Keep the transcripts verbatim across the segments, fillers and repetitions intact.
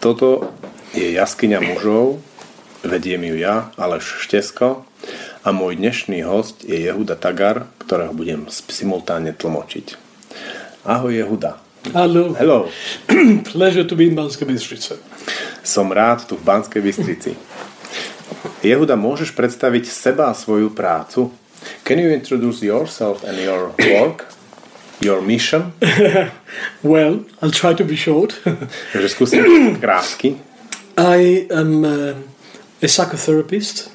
Toto je jaskyňa mužov, vediem ju ja, Aleš Štesko, a môj dnešný host je Jehuda Tagar, ktorého budem simultánne tlmočiť. Ahoj Jehuda. Hello. Hello. Pleasure to be in Banskej Bystrici. Som rád tu v Banskej Bystrici. Jehuda, môžeš predstaviť seba a svoju prácu? Can you introduce yourself and your work? Your mission? Well, I'll try to be short. Takže skúsim krátky. I am uh, a psychotherapist.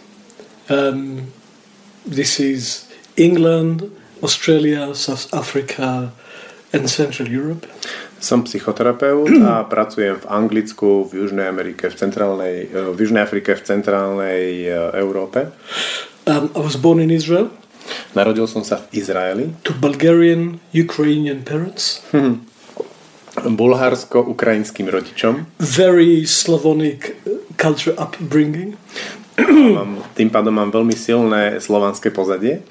Um, this is England, Australia, South Africa and Central Europe. Som psychoterapeut a pracujem v Anglicku, v Južnej Amerike, v centrálnej, v Južnej Afrike, v centrálnej Európe. Um, I was born in Israel. Narodil som sa v Izraeli. To Bulgarian, Ukrainian parents. Hm. Bulharsko-ukrajinským rodičom. Very Slavonic culture upbringing. Mám, tým pádom mám veľmi silné slovanské pozadie.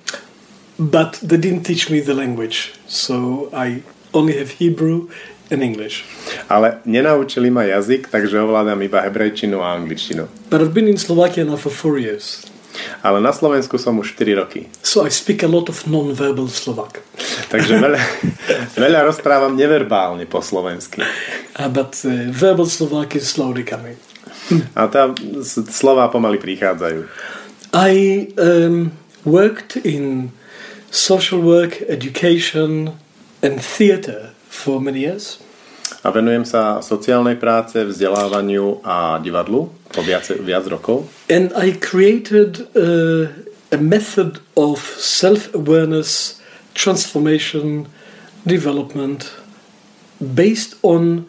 But they didn't teach me the language, so I only have Hebrew and English. Ale nenaučili ma jazyk, takže ovládam iba hebrejčinu a angličtinu. But I've been in Slovakia now for four years. Ale na Slovensku som už štyri roky. So I speak a lot of non-verbal Slovak. Takže veľa, veľa rozprávam neverbálne po slovensky. Uh, but uh, verbal Slovak is slowly coming. A tá slová pomaly prichádzajú. I um, worked in social work, education and theatre for many years. A venujem sa sociálnej práce, vzdelávaniu a divadlu po viac, viac rokov. And I created uh, a method of self-awareness, transformation, development based on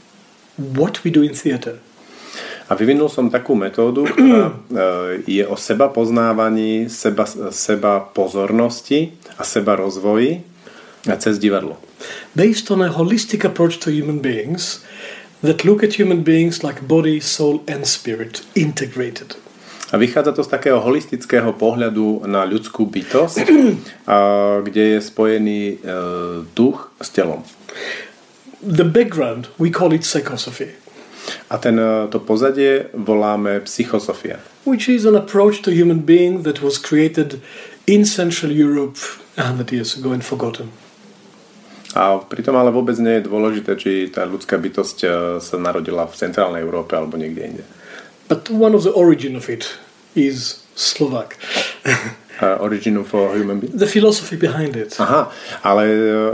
what we do in theatre. A vyvinul som takú metódu, ktorá je o seba poznávaní, seba, seba pozornosti a seba rozvoji cez divadlo. Based on a holistic approach to human beings that look at human beings like body, soul and spirit integrated. A vychádza to z takého holistického pohľadu na ľudskú bytosť, kde je spojený duch s telom. The background, we call it psychosophy. A ten, to pozadie voláme psychosofia. Which is an approach to human being that was created in Central Europe one hundred years ago and forgotten. A pritom ale vôbec nie je dôležité, či tá ľudská bytosť sa narodila v centrálnej Európe alebo niekde inde. But one of the origin of it is Slovak. Uh, origin of human being? The philosophy behind it. Aha, ale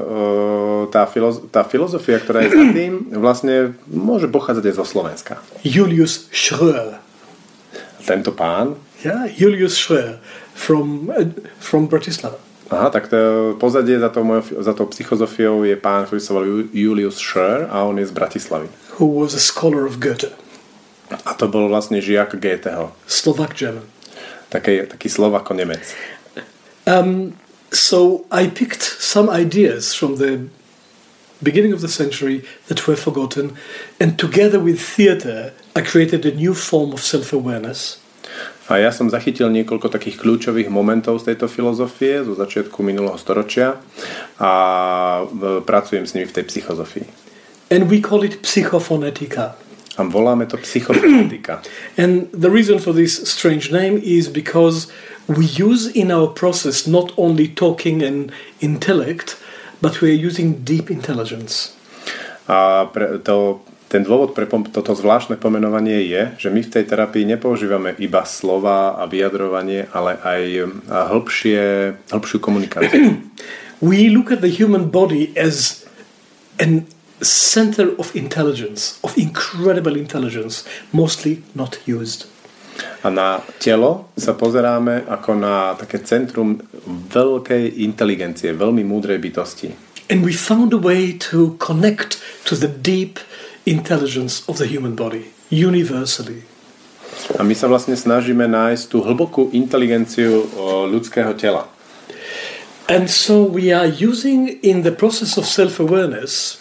uh, tá, filoz- tá filozofia, ktorá je za tým, vlastne môže pochádzať aj zo Slovenska. Julius Schröer. Tento pán? Yeah, Julius Schröer from, uh, from Bratislava. Aha, tak to pozadie za tou, za tou psychozofiou je pán, ktorý sa volá Julius Schröer a on je z Bratislavy. Who was a scholar of Goethe. A to bol vlastne žiak Goetheho. Slovak German. Taký, taký Slovako-Nemec. Um, so I picked some ideas from the beginning of the century that were forgotten, and together with theatre I created a new form of self-awareness. A ja som zachytil niekoľko takých kľúčových momentov z tejto filozofie zo začiatku minulého storočia a pracujem s nimi v tej psychozofii. And we call it psychophonetica. A voláme to psychophonetika. And the reason for this strange name is because we use in our process not only talking and intellect, but we are using deep intelligence. A pre to Ten dôvod pre toto zvláštne pomenovanie je, že my v tej terapii nepoužívame iba slova a vyjadrovanie, ale aj hĺbšie, hĺbšiu komunikáciu. We look at the human body as a center of intelligence, of incredible intelligence, mostly not used. A na telo sa pozeráme ako na také centrum veľkej inteligencie, veľmi múdrej bytosti. And we found a way to connect to the deep intelligence of the human body, universally. A my sa vlastne snažíme nájsť tú hlbokú inteligenciu ľudského tela. And so we are using in the process of self-awareness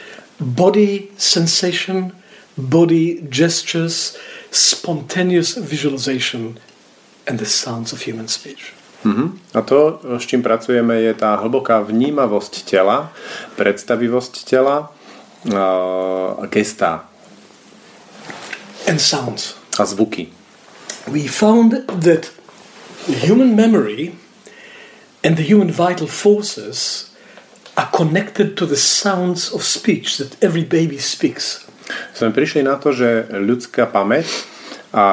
body sensation, body gestures, spontaneous visualization and the sounds of human speech. Mm-hmm. A to, s čím pracujeme, je tá hlboká vnímavosť tela, predstavivosť tela a gestá. and sounds. A zvuky. We found that the human memory and the human vital forces are connected to the sounds of speech that every baby speaks. Sme prišli na to, že ľudská pamäť a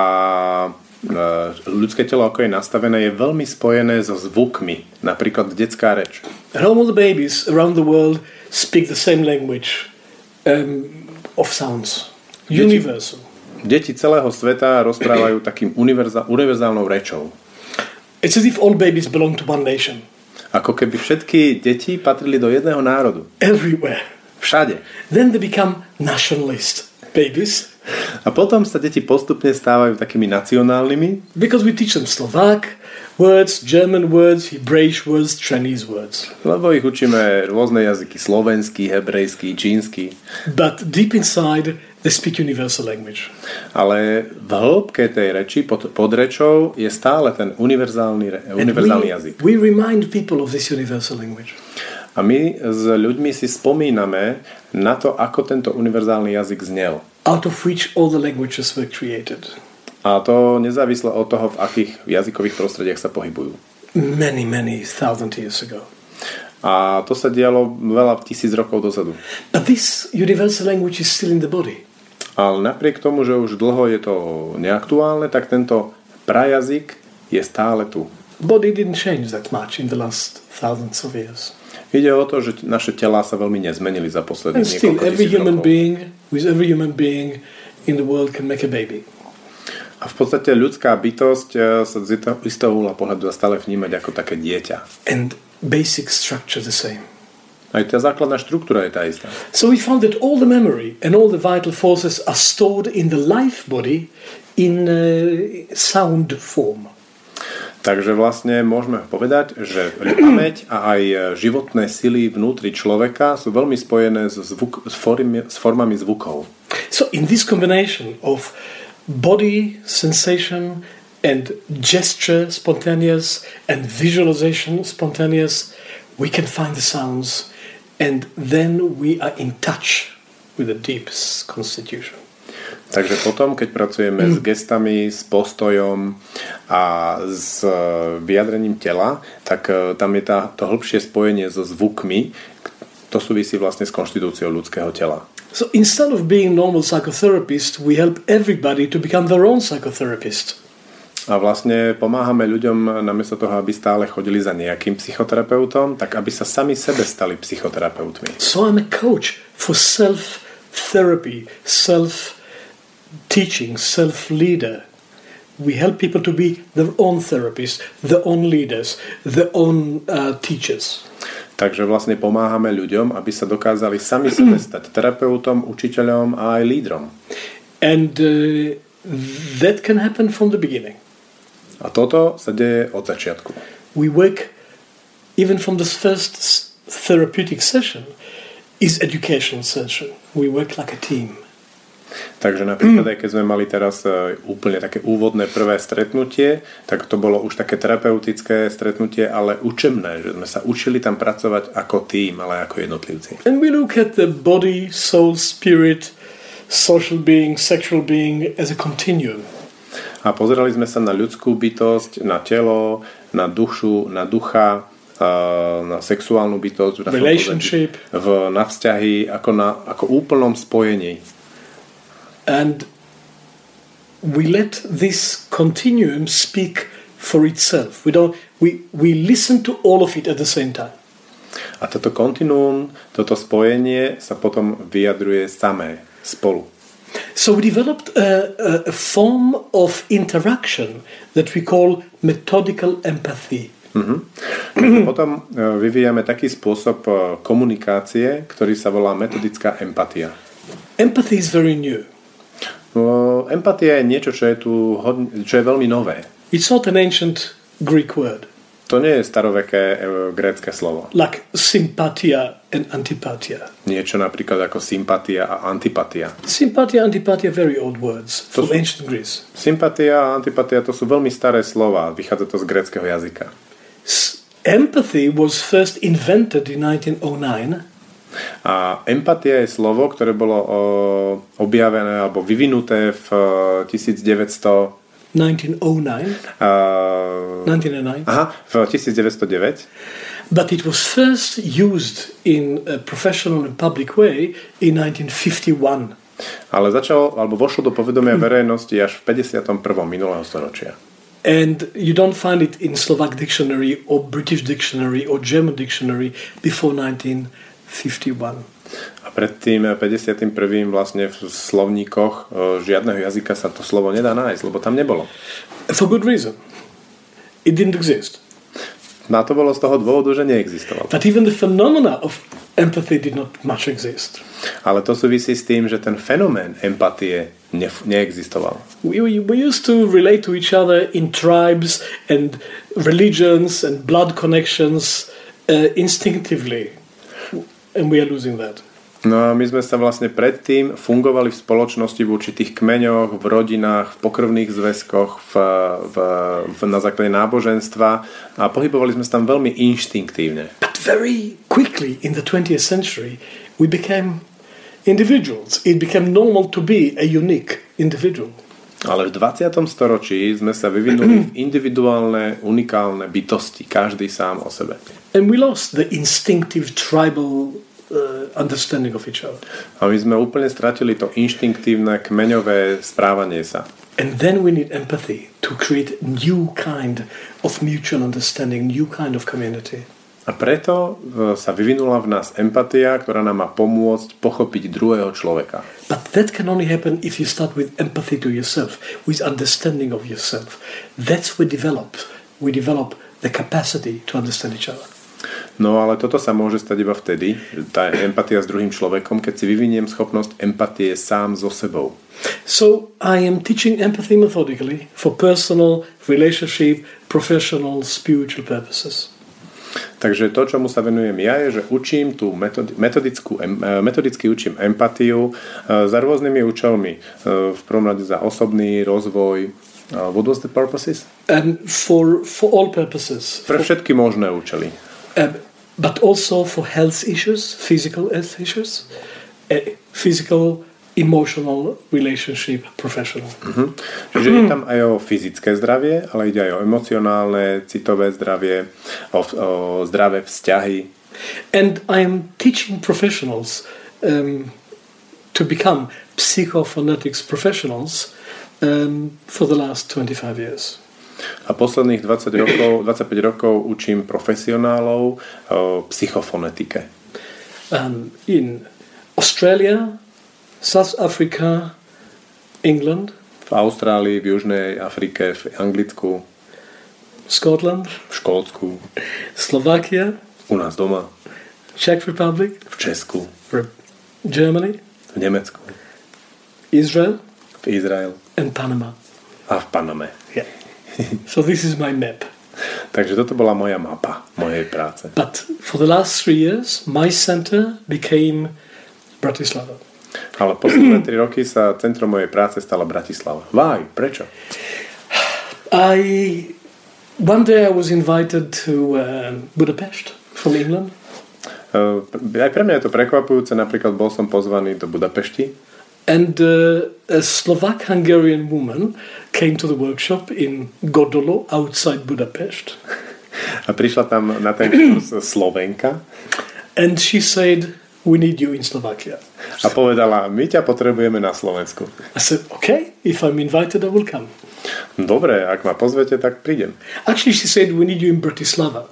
ľudské telo, ako je nastavené, je veľmi spojené so zvukmi. Napríklad detská reč. And all the babies around the world speak the same language um, of sounds. Universal. Deti celého sveta rozprávajú takým univerzál, univerzálnou rečou. It's as if all babies belong to one nation. Ako keby všetky deti patrili do jedného národu. Everywhere. Všade. Then they become nationalist babies. A potom sa deti postupne stávajú takými nacionálnymi. Because we teach them Slovak words, German words, Hebraic words, Chinese words. Lebo ich učíme rôzne jazyky. Slovenský, hebrejský, čínsky. But deep inside they speak universal language. Ale v hĺbke tej reči, pod, pod rečou, je stále ten univerzálny, univerzálny we, jazyk. We remind people of this universal language. A my s ľuďmi si spomíname na to, ako tento univerzálny jazyk znel. Out of which all the languages were created. A to nezávisle od toho, v akých jazykových prostrediach sa pohybujú. Many, many thousand years ago. A to sa dialo veľa tisíc rokov dozadu. But this universal language is still in the body. Ale napriek tomu, že už dlho je to neaktuálne, tak tento prajazyk je stále tu. Body didn't change that much in the last thousands of years. Ide o to, že naše telá sa veľmi nezmenili za posledných And still, niekoľko every tisíc human rokov. being, with every human being in the world can make a baby. A v podstate ľudská bytosť sa z istého uhla pohľadu dá stále vnímať ako také dieťa. And basic structure the same. Aj tá základná štruktúra je tá istá. So we found that all the memory and all the vital forces are stored in the life body in uh, sound form. Takže vlastne môžeme povedať, že pamäť a aj životné sily vnútri človeka sú veľmi spojené s, zvuk, s, formy, s formami zvukov. So in this combination of body sensation and gesture spontaneous and visualization spontaneous, we can find the sounds, and then we are in touch with the deepest constitution. Takže potom, keď pracujeme mm. s gestami, s postojom a s vyjadrením tela, tak tam je tá, to hĺbšie spojenie so zvukmi, to súvisí vlastne s konštitúciou ľudského tela. So instead of being normal psychotherapist, we help everybody to become their own psychotherapist. A vlastne pomáhame ľuďom namiesto toho, aby stále chodili za nejakým psychoterapeutom, tak aby sa sami sebe stali psychoterapeutmi. So I'm a coach for self-therapy, self-teaching, self-leader. We help people to be their own therapists, their own leaders, their own uh, teachers. Takže vlastne pomáhame ľuďom, aby sa dokázali sami sebe stať terapeutom, učiteľom a aj lídrom. And uh, that can happen from the beginning. A toto sa deje od začiatku. We work, even from this first therapeutic session, is educational session. We work like a team. Takže napríklad, aj keď sme mali teraz úplne také úvodné prvé stretnutie, tak to bolo už také terapeutické stretnutie, ale učebné, že sme sa učili tam pracovať ako tým, ale ako jednotlivci. And we look at the body, soul, spirit, social being, sexual being as a continuum. A pozerali sme sa na ľudskú bytosť, na telo, na dušu, na ducha, na sexuálnu bytosť, relationship, v, na vzťahy, ako na ako úplnom spojení. And we let this continuum speak for itself. We don't. We we listen to all of it at the same time. A toto kontinuum, toto spojenie sa potom vyjadruje samé spolu. So we developed a, a form of interaction that we call methodical empathy. Mm-hmm. Potom vyvíjame taký spôsob komunikácie, ktorý sa volá metodická empatia. Empathy is very new. No, empatia je niečo, čo je tu hodne, čo je veľmi nové. It's not an ancient Greek word. To nie je staroveké e, grécke slovo. Like sympatia and antipatia. Niečo napríklad ako sympatia a antipatia. Sympatia and antipatia are very old words from sú, ancient Greece. Sympatia a antipatia to sú veľmi staré slova. Vychádza to z gréckeho jazyka. S- empathy was first invented in nineteen oh nine. A empatia je slovo, ktoré bolo o, objavené alebo vyvinuté v devätnásť nineteen oh nine. Uh, nineteen oh nine. Aha, v devätnásťstodeväť. But it was first used in a professional and public way in nineteen fifty-one. Ale začal, alebo vošlo do povedomia verejnosti až v päťdesiatom prvom minulého storočia. And you don't find it in Slovak dictionary or British dictionary or German dictionary before nineteen fifty-one. A pred tým päťdesiatym prvým vlastne v slovníkoch žiadneho jazyka sa to slovo nedá nájsť, lebo tam nebolo. For good reason. It didn't exist. Na to bolo z toho dôvodu, že neexistovalo. But even the phenomena of empathy did not much exist. Ale to súvisí s tým, že ten fenomén empatie ne- neexistoval. We, we, we used to relate to each other in tribes and religions and blood connections uh, instinctively. And we are losing that. No a my sme sa vlastne predtým fungovali v spoločnosti v určitých kmeňoch, v rodinách, v pokrvných zväzkoch, v, v, v, na základe náboženstva a pohybovali sme sa tam veľmi inštinktívne. But very quickly in the twentieth century we became individuals. It became normal to be a unique individual. Ale v dvadsiatom storočí sme sa vyvinuli v individuálne, unikálne bytosti, každý sám o sebe. And we lost the instinctive tribal uh, understanding of each other. A my sme úplne stratili to inštinktívne, kmeňové správanie sa. And then we need empathy to create new kind of mutual understanding, new kind of community. A preto sa vyvinula v nás empatia, ktorá nám má pomôcť pochopiť druhého človeka. But that can only happen if you start with empathy to yourself, with understanding of yourself. That's we develop. We develop the capacity to understand each other. No ale toto sa môže stať iba vtedy, tá empatia s druhým človekom, keď si vyviniem schopnosť empatie sám so sebou. So I am teaching empathy methodically for personal, relationship, professional, spiritual purposes. Takže to, čomu sa venujem ja, je, že učím tú metodickú, metodicky učím empatiu za rôznymi účelmi. V prvom rade za osobný rozvoj. What was the purposes? And for, for all purposes. Pre všetky možné účely. Uh, but also for health issues, physical health issues, uh, physical, emotional, relationship, professional. Uh-huh. Čiže je tam aj o fyzické zdravie, ale ide aj o emocionálne, citové zdravie, o, o zdravé vzťahy. And I am teaching professionals um, to become psychophonetics professionals um, for the last twenty-five years. A posledných dvadsať rokov, dvadsaťpäť rokov učím profesionálov o psychofonetike. Um, in Australia, South Africa, England, v Austrálii, v Južnej Afrike, v Anglicku, Scotland, v Škótsku, Slovakia, u nás doma, Czech Republic, v Česku, Germany, v Nemecku, Israel, v Izrael and Panama. a v Paname. Yeah. So this is my map. Takže toto bola moja mapa mojej práce. But for the last three years, my center became Bratislava. Ale posledné tri roky sa centrom mojej práce stala Bratislava. Why? Prečo? I one day I was invited to uh, Budapest from England. Uh, aj pre mňa je to prekvapujúce. Napríklad bol som pozvaný do Budapešti. And uh, a Slovak-Hungarian woman came to the workshop in Godolo outside Budapest. A prišla tam na ten kurz Slovenka. And she said, we need you in Slovakia. A povedala, my ťa potrebujeme na Slovensku. I said, okay, if I'm invited, I will come. Dobre, ak ma pozvete, tak prídem. Actually, she said, we need you in Bratislava.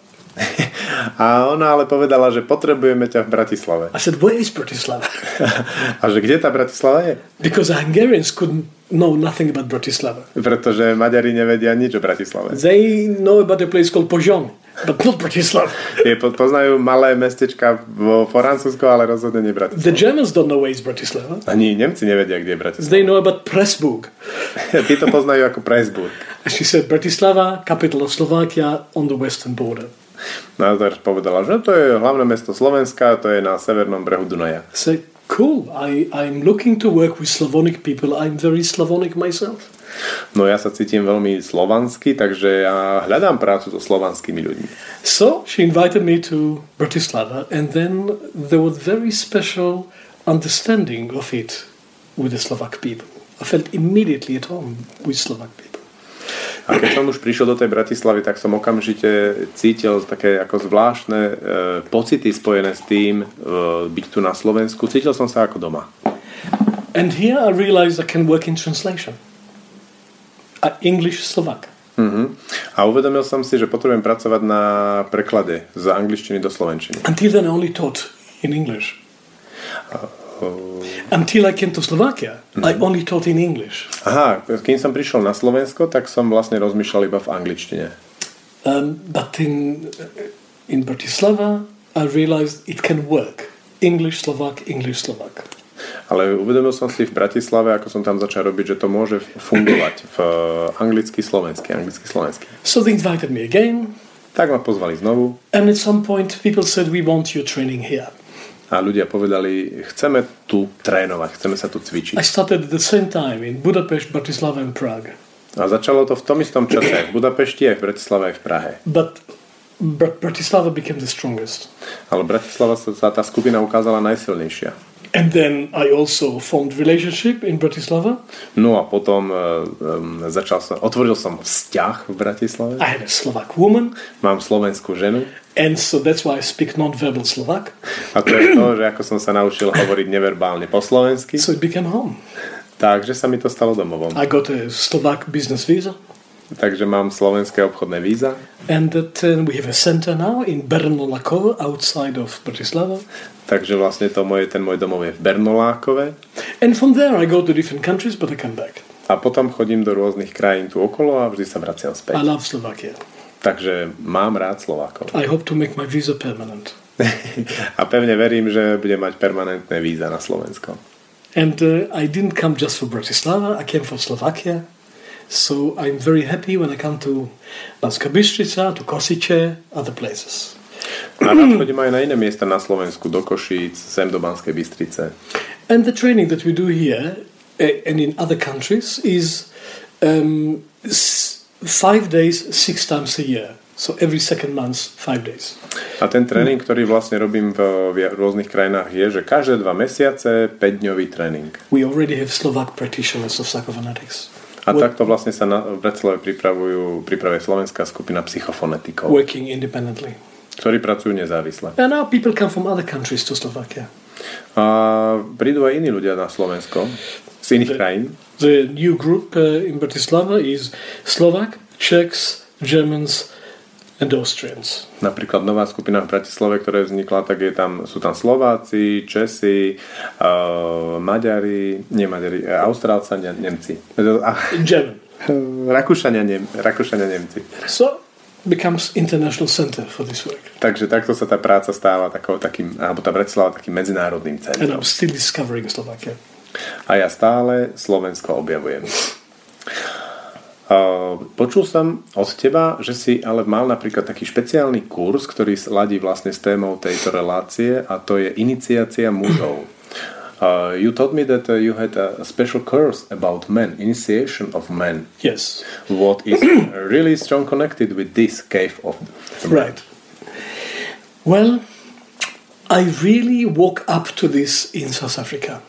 A ona ale povedala, že potrebujeme ťa v Bratislave. I said, where is Bratislava? A že kde tá Bratislava je? Because the Hungarians couldn't know nothing about Bratislava. Pretože Maďari nevedia nič o Bratislave. They know about a place called Pozsony, but not Bratislava. Je, poznajú malé mestečka vo Francúzsku, ale rozhodne nie Bratislava. The Germans don't know where is Bratislava. Ani Nemci nevedia, kde je Bratislava. They know about Pressburg. Tí to poznajú ako Pressburg. And she said, Bratislava, capital of Slovakia, on the western border. No a povedala, že to je hlavné mesto Slovenska, to je na severnom brehu Dunaja. So Cool. I, I'm looking to work with Slavonic people. I'm very Slavonic myself. No ja sa cítim veľmi slovansky, takže ja hľadám prácu so slovanskými ľuďmi. So she invited me to Bratislava, and then there was very special understanding of it with the Slovak people. I felt immediately at home with Slovak people. A keď som už prišiel do tej Bratislavy, tak som okamžite cítil také ako zvláštne e, pocity spojené s tým e, byť tu na Slovensku. Cítil som sa ako doma. And here I realized I can work in translation. Uh, English Slovak. Uh-huh. A uvedomil som si, že potrebujem pracovať na preklade z angličtiny do slovenčiny. Until then I only taught in English. Uh, uh, Until I came to Slovakia, uh-huh. I only taught in English. Aha, kým som prišiel na Slovensko, tak som vlastne rozmýšľal iba v angličtine. Um, but in, in Bratislava I realized it can work. English Slovak, English Slovak. Ale uvedomil som si v Bratislave, ako som tam začal robiť, že to môže fungovať v anglicky, slovensky, anglicky, slovensky. So they invited me again. Tak ma pozvali znovu. And at some point people said, we want your training here. A ľudia povedali, chceme tu trénovať, chceme sa tu cvičiť. I started at the same time in Budapest, Bratislava and Prague. A začalo to v tom istom čase, v Budapešti, aj v Bratislave, aj v Prahe. But Br- Bratislava became the strongest. Ale Bratislava sa tá skupina ukázala najsilnejšia. And then I also formed relationship in Bratislava. No a potom um, začal som, otvoril som vzťah v Bratislave. I had a Slovak woman. Mám slovenskú ženu. And so that's why I speak non-verbal Slovak. A to je to, že ako som sa naučil hovoriť neverbálne po slovensky. So it became home. Takže sa mi to stalo domovom. I got a Slovak business visa. Takže mám slovenské obchodné víza. And that uh, we have a center now in Bernolákovo, outside of Bratislava. Takže vlastne to moje, ten môj domov je v Bernolákove. And from there I go to different countries, but I come back. A potom chodím do rôznych krajín tu okolo a vždy sa vraciam späť. I love Slovakia. Takže mám rád Slovákov. I hope to make my visa permanent. A pevne verím, že budem mať permanentné víza na Slovensko. And uh, I didn't come just for Bratislava, I came for Slovakia. So I'm very happy when I come to Banská Bystrica, to Kosice, other places. A rád chodím aj na iné miesta na Slovensku, do Košíc, sem do Banskej Bystrice. And the training that we do here uh, and in other countries is um, s- five days, six times a year. So every second month, five days. A ten tréning, ktorý vlastne robím v, v rôznych krajinách, je, že každé dva mesiace päťdňový tréning. We already have Slovak practitioners of psychophonetics. A takto vlastne sa na, v Bratislave pripravujú, pripravuje slovenská skupina psychofonetikov, Working independently. ktorí pracujú nezávisle. And now people come from other countries to Slovakia. A prídu aj iní ľudia na Slovensko z iných krajín. The new group uh, in Bratislava is Slovak, Czechs, Germans and Austrians. Napríklad nová skupina v Bratislave, ktorá vznikla, tak je tam, sú tam Slováci, Česi, uh, Maďari, nie Maďari, uh, Austrálčania, Nemci. German. Rakúšania, Nem, Rakúšania, Nemci. So becomes international center for this work. Takže takto sa tá práca stáva takou, takým, alebo tá Bratislava takým medzinárodným And centrom. I'm still discovering Slovakia. A ja stále Slovensko objavujem. Uh, počul som od teba, že si ale mal napríklad taký špeciálny kurz, ktorý ladí vlastne s témou tejto relácie, a to je iniciácia mužov. Uh, you told me that uh, you had a special course about men, initiation of men. Yes. What is really strong connected with this cave of men. Right. Well, I really woke up to this in South Africa.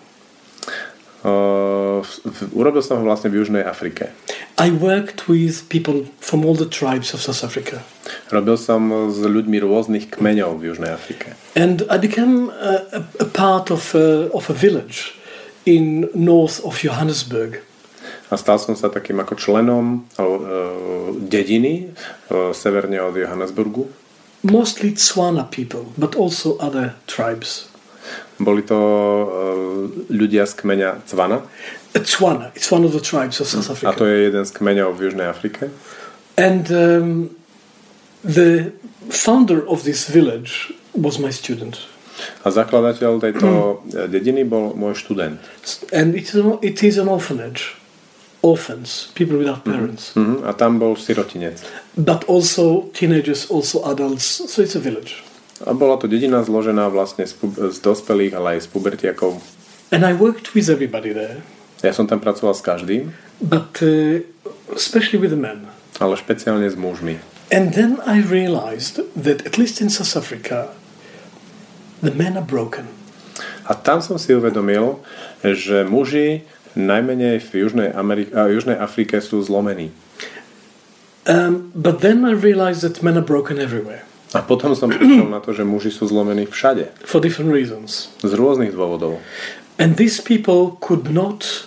Uh, urobil som ho vlastne v Južnej Afrike. I worked with people from all the tribes of South Africa. Robil som s ľuďmi rôznych kmeňov v Južnej Afrike. And I became a, a, a part of a, of a village in north of Johannesburg. A stal som sa takým ako členom uh, dediny uh, severne od Johannesburgu. Mostly Tswana people, but also other tribes. Boli to uh, ľudia z kmeňa Tswana. Tswana, it's one of the tribes of South Africa. A to je jeden z kmeňov v Južnej Afrike. And um, the founder of this village was my student. A zakladateľ tejto dediny bol môj študent. And it is, it is an orphanage. Orphans, people without parents. Mm-hmm. A tam bol sirotinec. But also teenagers, also adults, so it's a village. A bola to dedina zložená vlastne z, pu- z dospelých, ale aj z pubertiakov. And I worked with everybody there. Ja som tam pracoval s každým, But uh, especially with the men. ale špeciálne s mužmi. And then I realized that at least in South Africa, the men are broken. A tam som si uvedomil, že muži najmenej v Južnej, Amerike, a Južnej Afrike sú zlomení. Um, but then I realized that men are broken everywhere. A potom som prišiel na to, že muži sú zlomení všade. For different reasons. Z rôznych dôvodov. And these people could not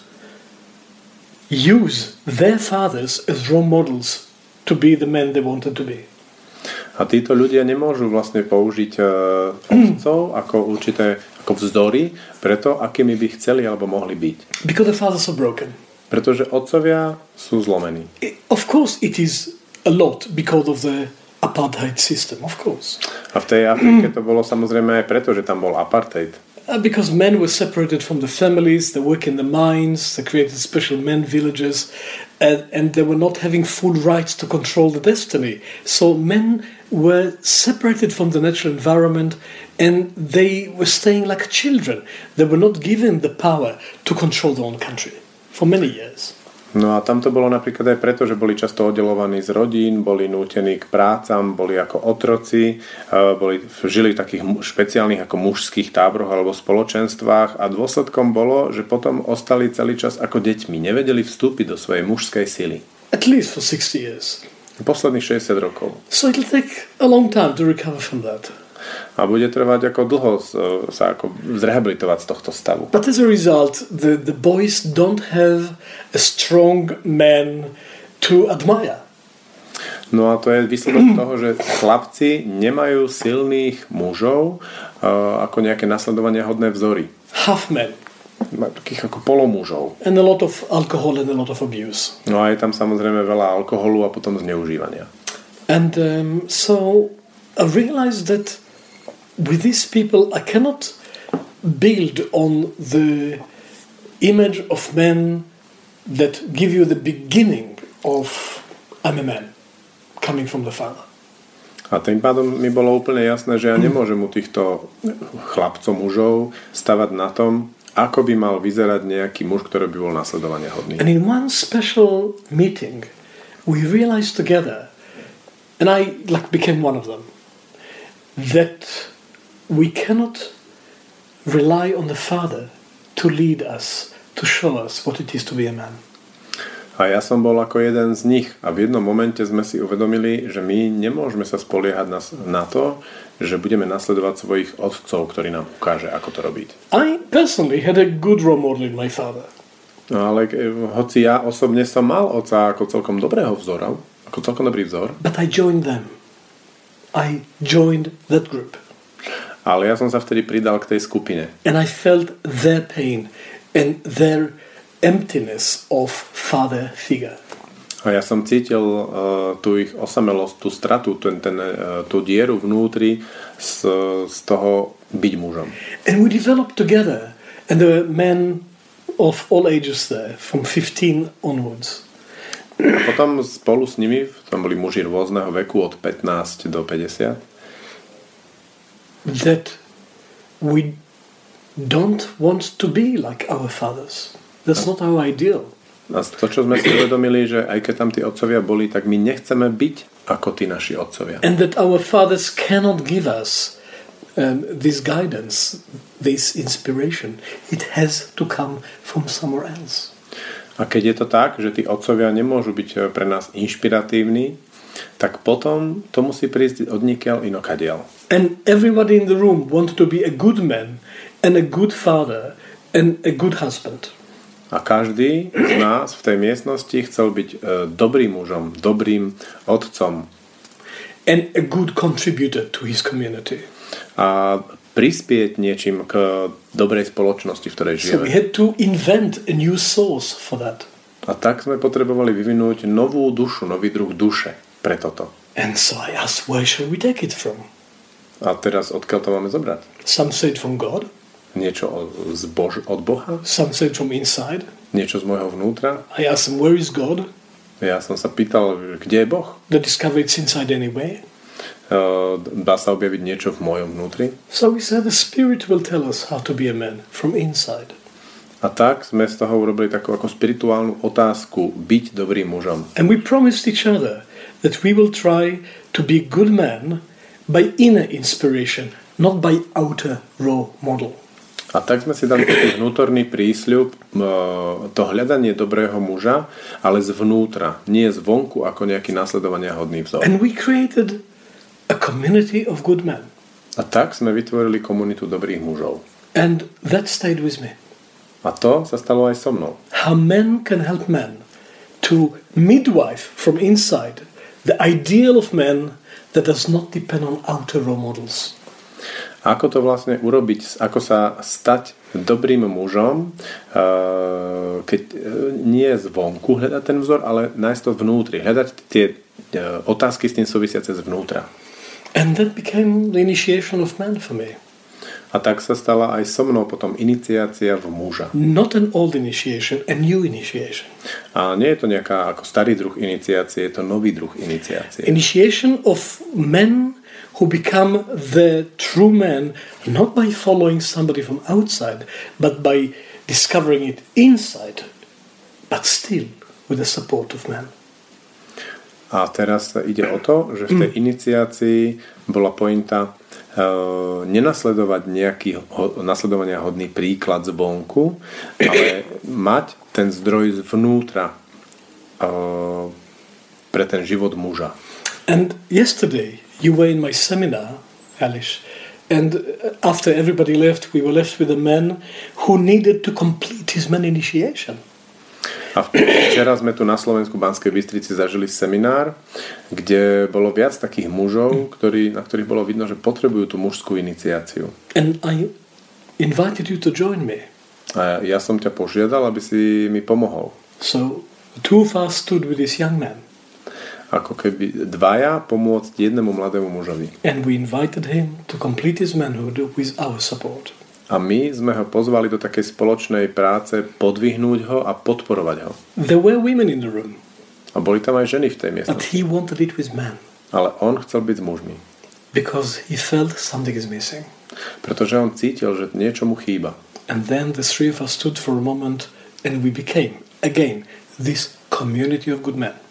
use their fathers as role models to be the men they wanted to be. A títo ľudia nemôžu vlastne použiť uh, otcov ako určité ako vzory preto, akými by chceli alebo mohli byť. Because the fathers are broken. Pretože otcovia sú zlomení. I- Of course it is a lot because of the apartheid system, of course. A v tej Afrike to bolo samozrejme aj preto, že tam bol apartheid. Uh, because men were separated from the families, they work in the mines, they created special men villages, and, and they were not having full rights to control the destiny. So men were separated from the natural environment and they were staying like children. They were not given the power to control their own country for many years. No a tam to bolo napríklad aj preto, že boli často oddelovaní z rodín, boli nútení k prácam, boli ako otroci, boli, žili v takých špeciálnych ako mužských táboroch alebo spoločenstvách a dôsledkom bolo, že potom ostali celý čas ako deťmi, nevedeli vstúpiť do svojej mužskej sily. At least for sixty years. Posledných šesťdesiat rokov. So it'll take a long time to recover from that. A bude trvať ako dlho sa ako zrehabilitovať z tohto stavu. But as a result, the, the boys don't have a strong man to admire. No a to je výsledok toho, že chlapci nemajú silných mužov uh, ako nejaké nasledovania hodné vzory. Half men. Takých ako polomúžov. And a lot of alcohol and a lot of abuse. No a je tam samozrejme veľa alkoholu a potom zneužívania. And um, so I realized that with these people I cannot build on the image of men that give you the beginning of I'm a man coming from the father. A tým pádom mi bolo úplne jasné, že ja nemôžem u týchto chlapcov, mužov stavať na tom, ako by mal vyzerať nejaký muž, ktorý by bol nasledovania hodný. And in one special meeting we realized together, and I like became one of them, that we cannot rely on the father to lead us, to show us what it is to be a man. A ja som bol ako jeden z nich a v jednom momente sme si uvedomili, že my nemôžeme sa spoliehať na, na to, že budeme nasledovať svojich otcov, ktorí nám ukáže, ako to robiť. I personally had a good role model in my father. No ale hoci ja osobne som mal otca ako celkom dobrého vzora, ako celkom dobrý vzor, But I joined them. I joined that group. ale ja som sa vtedy pridal k tej skupine. And I felt their pain and their emptiness of father figure. A ja som cítil uh, tú ich osamelosť, tú stratu, ten, ten, uh, tú dieru vnútri z, z toho byť mužom. And we developed together. And there were men of all ages there, from fifteen onwards. A potom spolu s nimi, tam boli muži rôzneho veku od pätnásť do päťdesiat, That we don't want to be like our fathers. That's not our ideal. a to, čo sme si uvedomili, že aj keď tam tí otcovia boli, tak my nechceme byť ako tí naši otcovia. And that our fathers cannot give us um, this guidance, this inspiration. It has to come from somewhere else. A keď je to tak, že tí otcovia nemôžu byť pre nás inšpiratívni, tak potom to musí prísť odnikiaľ inokadiaľ. And everybody in the room wanted to be a good man and a good father and a good husband. A každý z nás v tej miestnosti chcel byť e, dobrým mužom, dobrým otcom. And a good contributor to his community. A prispieť niečím k dobrej spoločnosti, v ktorej So we žijeme. had to invent a new source for that. A tak sme potrebovali vyvinúť novú dušu, nový druh duše pre toto. And so I asked, where shall we take it from? A teraz odkiaľ to máme zobrať? Some say it from God, Niečo od, z Bož, od Boha? some say it from inside. Niečo z môjho vnútra? I asked them, where is God? Ja som sa pýtal, kde je Boh? They discover it's inside anyway. uh, dá sa objaviť niečo v mojom vnútri. So we said the Spirit will tell us how to be a man from inside. A tak sme z toho urobili takú ako spirituálnu otázku byť dobrým mužom. And we promised each other that we will try to be a good man by inner inspiration, not by outer raw model. A tak sme si dali taký vnútorný prísľub, to hľadanie dobrého muža, ale zvnútra, nie zvonku ako nejaký nasledovania hodný vzor. And we created a community of good men. A tak sme vytvorili komunitu dobrých mužov. And that stayed with me. A to sa stalo aj so mnou. How men can help men to midwife from inside the ideal of men that does not depend on outer role models. Ako to vlastne urobiť, ako sa stať dobrým mužom, keď nie zvonku hľadať ten vzor, ale nájsť to vnútri, hľadať tie otázky s tým súvisiace zvnútra. And that became the initiation of man for me. A tak sa stala aj so mnou potom iniciácia v muža. Not an old initiation, a new initiation. A nie je to nejaká ako starý druh iniciácie, je to nový druh iniciácie. Initiation of men who become the true man not by following somebody from outside, but by discovering it inside, but still with the support of man. A teraz ide o to, že v tej iniciácii bola pointa uh, nenasledovať nejaký ho, nasledovania hodný príklad zvonku, ale mať ten zdroj zvnútra uh, pre ten život muža. And yesterday you were in my seminar, Alice, and after everybody left, we were left with a man who needed to complete his man initiation. A včera sme tu na Slovensku v Banskej Bystrici zažili seminár, kde bolo viac takých mužov, ktorí, na ktorých bolo vidno, že potrebujú tú mužskú iniciáciu. And I invited you to join me. A ja som ťa požiadal, aby si mi pomohol. So the two of us stood with this young man. Ako keby dvaja pomôcť jednému mladému mužovi. And we invited him to complete his manhood with our support. A my sme ho pozvali do takej spoločnej práce podvihnúť ho a podporovať ho. There were women in the room. A boli tam aj ženy v tej miestnosti. But he wanted it with men. Ale on chcel byť s mužmi. Because he felt something is missing. Pretože on cítil, že niečo mu chýba. And then the three of us stood for a moment and we became, again, this community of good men.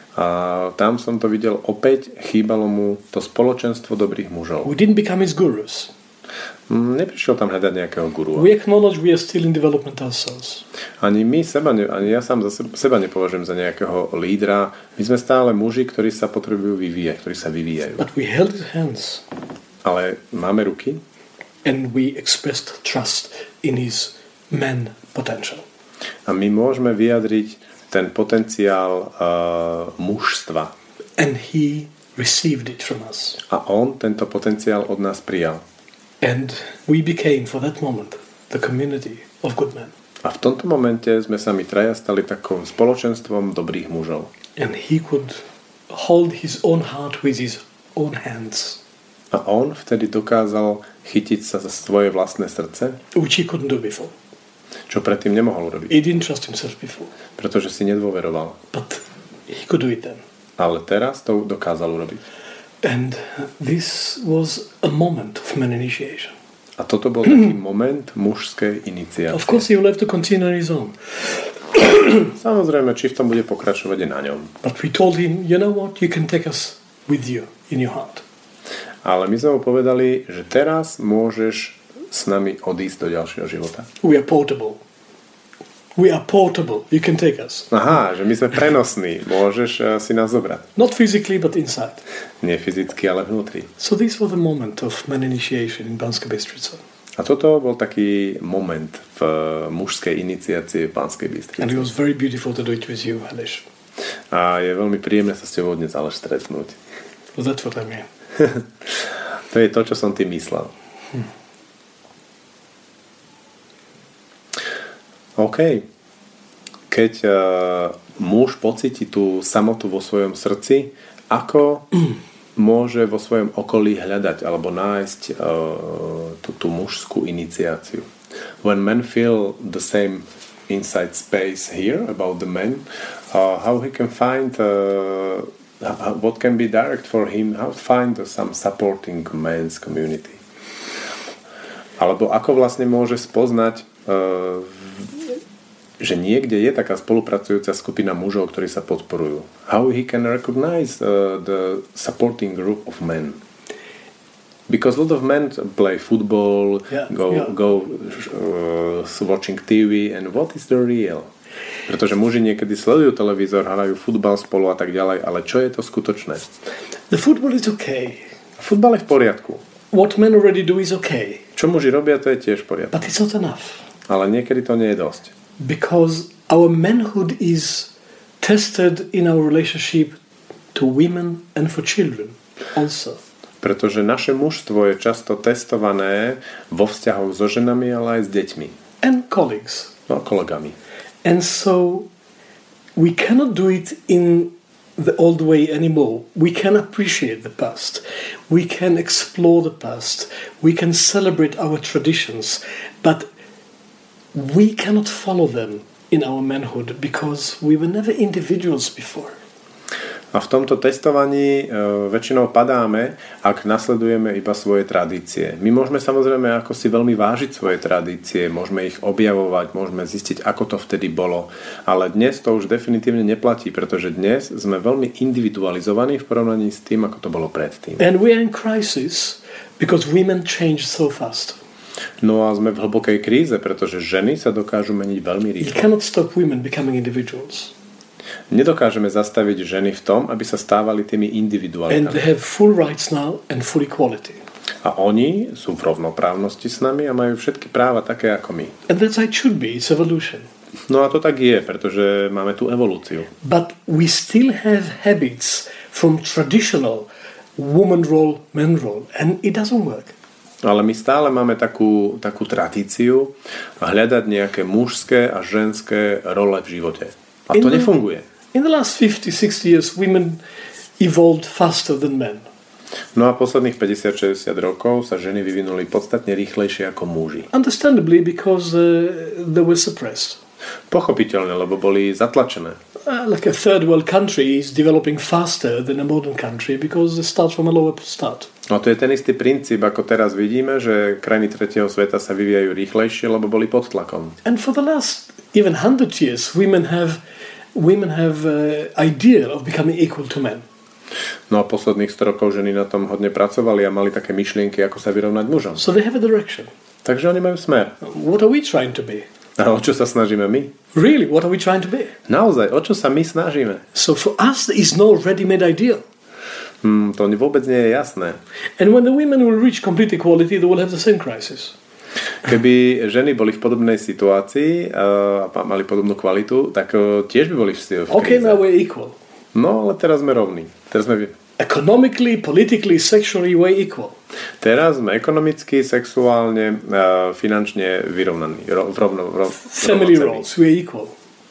A tam som to videl opäť, chýbalo mu to spoločenstvo dobrých mužov. We didn't become his gurus. Neprišiel tam hľadať nejakého gurua. We acknowledge we are still in development ourselves. Ani my seba, ani ja sám za seba nepovažujem za nejakého lídra. My sme stále muži, ktorí sa potrebujú vyvíjať, ktorí sa vyvíjajú. But we held his hands. Ale máme ruky. And we expressed trust in his man potential. A my môžeme vyjadriť ten potenciál uh, mužstva. And he received it from us. A on tento potenciál od nás prijal. And we became, for that moment, the community of good men. A v tomto momente sme sa my traja stali takou spoločenstvom dobrých mužov. And he could hold his own heart with his own hands. A on vtedy dokázal chytiť sa za svoje vlastné srdce, which he couldn't do before. Čo predtým nemohol urobiť. He didn't trust himself before. Pretože si nedôveroval. But he could do it then. Ale teraz to dokázal urobiť. And this was a moment of man initiation. A toto bol taký moment mužskej iniciácie. Of course he will have to continue on his own. Samozrejme, či v tom bude pokračovať je na ňom. But we told him, you know what, you can take us with you in your heart. Ale my sme mu povedali, že teraz môžeš s nami odísť do ďalšieho života. We are portable. We are portable. You can take us. Aha, že my sme prenosní. Môžeš uh, si nás zobrať. Not physically, but inside. Nie fyzicky, ale vnútri. So this was the moment of man initiation in Banska Bystrica. A toto bol taký moment v uh, mužskej iniciácii v Banskej Bystrici. And it was very beautiful to do it with you, Aleš. A je veľmi príjemné sa s tebou dnes ale stretnúť. Well, that's what I mean. To je to, čo som ty myslel. Hm. OK. Keď uh, muž pocíti tú samotu vo svojom srdci, ako môže vo svojom okolí hľadať alebo nájsť uh, tú, tú mužskú iniciáciu? When men feel the same inside space here about the men, uh, how he can find uh, what can be direct for him, how to find some supporting men's community. Alebo ako vlastne môže spoznať, uh, že niekde je taká spolupracujúca skupina mužov, ktorí sa podporujú. How he can recognize uh, the supporting group of men. Because a lot of men play football, yeah, go, yeah. go uh, watching T V, and what is the real? Pretože muži niekedy sledujú televízor, hrajú futbal spolu a tak ďalej, ale čo je to skutočné? The football is okay. Futbal je v poriadku. What men already do is okay. Čo muži robia, to je tiež v poriadku. But it's not enough. Ale niekedy to nie je dosť. Because our manhood is tested in our relationship to women and for children also. Pretože naše mužstvo je často testované vo vzťahoch so ženami, ale aj s deťmi. And colleagues. No, kolegami. And so we cannot do it in the old way anymore. We can appreciate the past. We can explore the past. We can celebrate our traditions. But we cannot follow them in our manhood because we were never individuals before. A v tomto testovaní e, väčšinou padáme, ak nasledujeme iba svoje tradície. My môžeme samozrejme ako si veľmi vážiť svoje tradície, môžeme ich objavovať, môžeme zistiť, ako to vtedy bolo. Ale dnes to už definitívne neplatí, pretože dnes sme veľmi individualizovaní v porovnaní s tým, ako to bolo predtým. And we are in crisis because women change so fast. No a sme v hlbokej kríze, pretože ženy sa dokážu meniť veľmi rýchlo. You cannot stop women becoming individuals. Nedokážeme zastaviť ženy v tom, aby sa stávali tými individuálkami. And they have full rights now and full equality. A oni sú v rovnoprávnosti s nami a majú všetky práva také ako my. And that's how it should be. It's evolution. No a to tak je, pretože máme tú evolúciu. But we still have habits from traditional woman role, man role, and it doesn't work. Ale my stále máme takú, takú tradíciu hľadať nejaké mužské a ženské role v živote. A to in nefunguje. The, in the last fifty, sixty years women evolved faster than men. No a posledných päťdesiat šesťdesiat rokov sa ženy vyvinuli podstatne rýchlejšie ako muži. Understandably because uh, they were suppressed. Pochopiteľne, lebo boli zatlačené. Uh, like a third world country is developing faster than a modern country because they start from a lower start. No to je ten istý princíp, ako teraz vidíme, že krajiny tretieho sveta sa vyvíjajú rýchlejšie, lebo boli pod tlakom. And for the last even hundred years women have women have uh, idea of becoming equal to men. No a posledných sto rokov ženy na tom hodne pracovali a mali také myšlienky, ako sa vyrovnať mužom. So they have a direction. Takže oni majú smer. What are we trying to be? A o čo sa snažíme my? Really, what are we trying to be? Naozaj, o čo sa my snažíme? So for us there is no ready-made ideal. Hmm, to vôbec nie je jasné. And when the women will reach complete equality, they will have the same crisis. Keby ženy boli v podobnej situácii a uh, mali podobnú kvalitu, tak uh, tiež by boli v, v kríze. Okay, now we're equal. No, ale teraz sme rovní. Teraz sme... Economically, politically, sexually, we're equal. Teraz sme ekonomicky, sexuálne, uh, finančne vyrovnaní. Ro, rovno, ro, Family roles, we're equal.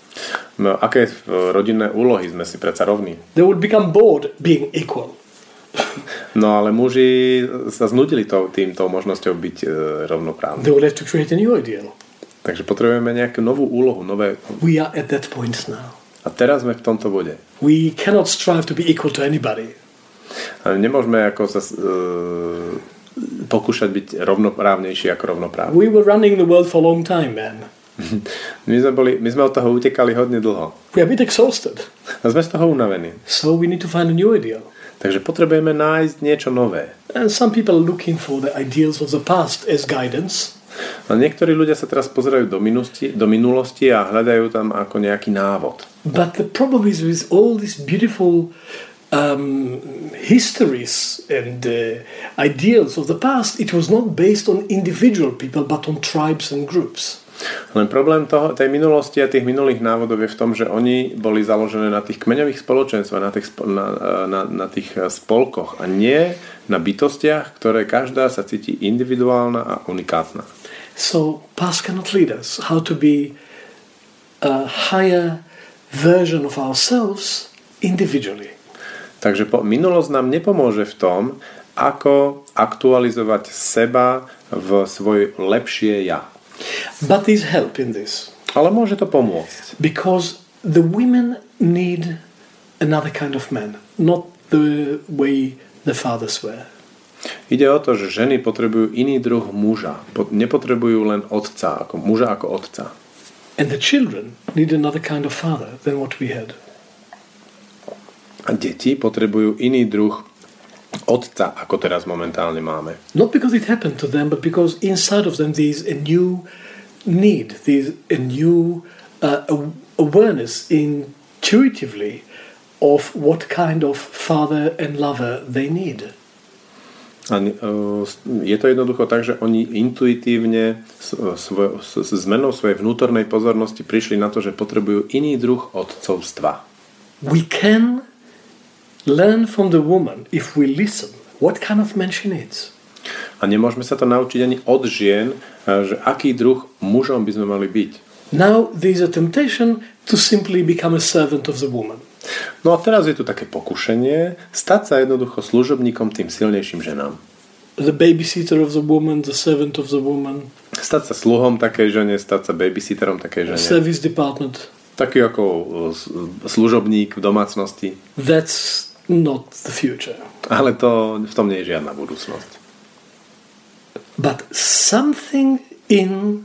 No, aké rodinné úlohy sme si predsa rovní? They would become bored being equal. No ale muži sa znudili to, týmto možnosťou byť e, rovnoprávni. They will have to create a new ideal. Takže potrebujeme nejakú novú úlohu, nové... We are at that point now. A teraz sme v tomto bode. We cannot strive to be equal to anybody. A nemôžeme ako sa e, pokúšať byť rovnoprávnejší ako rovnoprávny. We were running the world for a long time, man. My sme, boli, my sme od toho utekali hodne dlho. We are a bit exhausted. A sme z toho unavení. So we need to find a new ideal. Takže potrebujeme nájsť niečo nové. And some people are looking for the ideals of the past as guidance. A niektorí ľudia sa teraz pozerajú do minulosti, do minulosti a hľadajú tam ako nejaký návod. But the problem is with all these beautiful um, histories and uh, ideals of the past, it was not based on individual people but on tribes and groups. Len problém toho, tej minulosti a tých minulých návodov je v tom, že oni boli založené na tých kmeňových spoločenstvách, na tých, na, na, na tých spolkoch a nie na bytostiach, ktoré každá sa cíti individuálna a unikátna. So past cannot lead us how to be a higher version of ourselves individually. Takže po, minulosť nám nepomôže v tom, ako aktualizovať seba v svoje lepšie ja. But there's help in this. Ale môže to pomôcť. Because the women need another kind of man, not the way the fathers were. Ide o to, že ženy potrebujú iný druh muža. Nepotrebujú len otca, ako muža ako otca. And the children need another kind of father than what we had. A deti potrebujú iný druh otca, ako teraz momentálne máme. Not because it happened to them, but because inside of them there is a new need, there is a new uh, awareness intuitively of what kind of father and lover they need. A je to jednoducho tak, že oni intuitívne svoj, s zmenou svojej vnútornej pozornosti prišli na to, že potrebujú iný druh otcovstva. We can learn from the woman, if we listen, what kind of man she needs. A nemôžeme sa to naučiť ani od žien, že aký druh mužom by sme mali byť. Now there is a temptation to simply become a servant of the woman. No a teraz je tu také pokušenie stať sa jednoducho služobníkom tým silnejším ženám. The babysitter of the woman, the servant of the woman. Stať sa sluhom takej žene, stať sa babysitterom takej žene. Service department. Taký ako služobník v domácnosti. That's not the future. Ale to, v tom nie je žiadna budúcnosť. But something in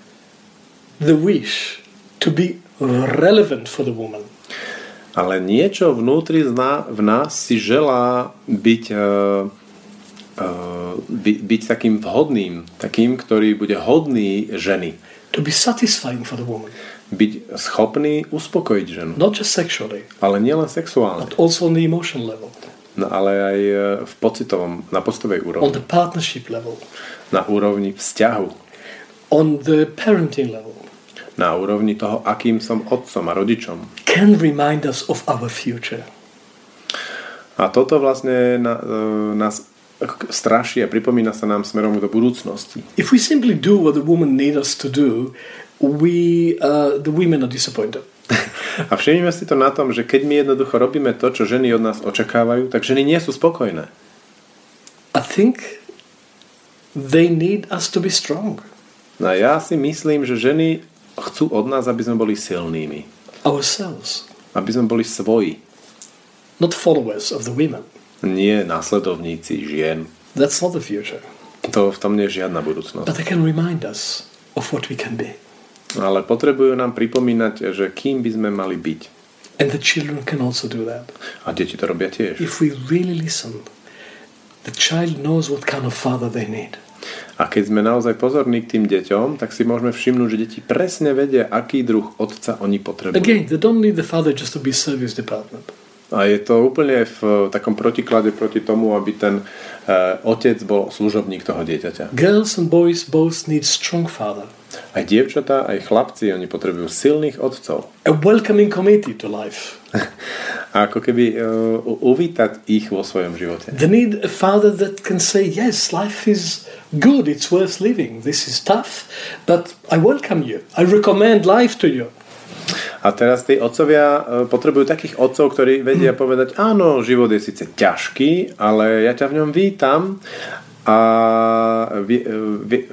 the wish to be relevant for the woman. Ale niečo vnútri v nás si želá byť, uh, uh, by, byť takým vhodným, takým, ktorý bude hodný ženy. To be satisfying for the woman. Byť schopný uspokojiť ženu. Not just sexually. Ale nielen sexuálne. But also on the emotional level. No, ale aj v pocitovom, na pocitovej úrovni. On the partnership level. Na úrovni vzťahu. On the parenting level. Na úrovni toho, akým som otcom a rodičom. Can remind us of our future. A toto vlastne na, nás straší a pripomína sa nám smerom do budúcnosti. If we simply do what the woman needs us to do, we, uh, the women are disappointed. A všimnime si to na tom, že keď my jednoducho robíme to, čo ženy od nás očakávajú, tak ženy nie sú spokojné. I think they need us to be strong. No ja si myslím, že ženy chcú od nás, aby sme boli silnými. Ourselves. Aby sme boli svoji. Not followers of the women. Nie následovníci žien. That's not the future. To v tom nie je žiadna budúcnosť. But they can remind us of what we can be. Ale potrebujú nám pripomínať, že kým by sme mali byť. And the children can also do that. A deti to robia tiež. If we really listen, the child knows what kind of father they need. A keď sme naozaj pozorní k tým deťom, tak si môžeme všimnúť, že deti presne vedia, aký druh otca oni potrebujú. Again, they don't need the father just to be service department. A je to úplne v takom protiklade proti tomu, aby ten uh, otec bol služobník toho dieťaťa. Girls and boys both need strong father. Aj dievčatá, aj chlapci, oni potrebujú silných otcov. A welcoming committee to life. A ako keby uh, uvítať ich vo svojom živote. They need a father that can say, yes, life is good, it's worth living. This is tough, but I welcome you. I recommend life to you. A teraz tí otcovia potrebujú takých otcov, ktorí vedia povedať, áno, život je síce ťažký, ale ja ťa v ňom vítam a vi, vi,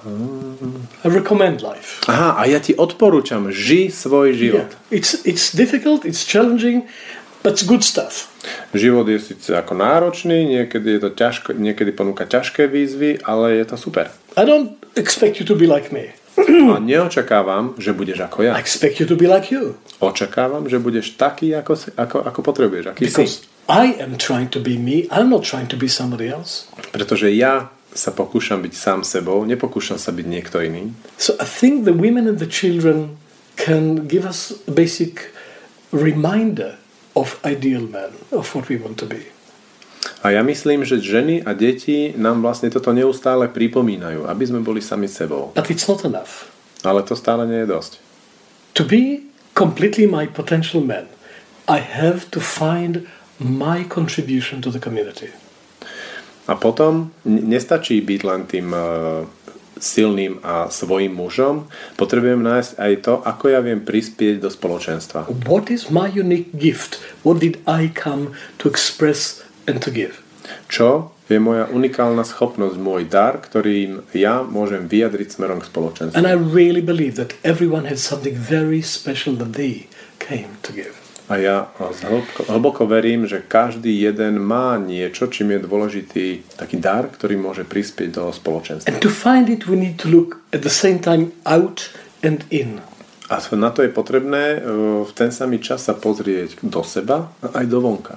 I recommend life. Aha, a ja ti odporúčam, ži svoj život. Yeah. It's, it's difficult, it's challenging, but it's good stuff. Život je síce ako náročný, niekedy je to ťažko, niekedy ponúka ťažké výzvy, ale je to super. I don't expect you to be like me. A neočakávam, že budeš ako ja. I expect you to be like you. Očakávam, že budeš taký, ako, ako, ako potrebuješ, aký Because si. I am trying to be me, I'm not trying to be somebody else. Pretože ja sa pokúšam byť sám sebou, nepokúšam sa byť niekto iný. So I think the women and the children can give us a basic reminder of ideal man, of what we want to be. A ja myslím, že ženy a deti nám vlastne toto neustále pripomínajú, aby sme boli sami sebou. But it's not enough. Ale to stále nie je dosť. To be completely my potential man, I have to find my contribution to the community. A potom nestačí byť len tým uh, silným a svojím mužom, potrebujem nájsť aj to, ako ja viem prispieť do spoločenstva. What is my unique gift? What did I come to express and to give? Čo je moja unikálna schopnosť, môj dar, ktorým ja môžem vyjadriť smerom k spoločenstvu. And I really believe that everyone has something very special that they came to give. A ja hlboko, hlboko verím, že každý jeden má niečo, čím je dôležitý taký dar, ktorý môže prispieť do spoločenstva. And to find it, we need to look at the same time out and in. A na to je potrebné v ten samý čas sa pozrieť do seba a aj do vonka.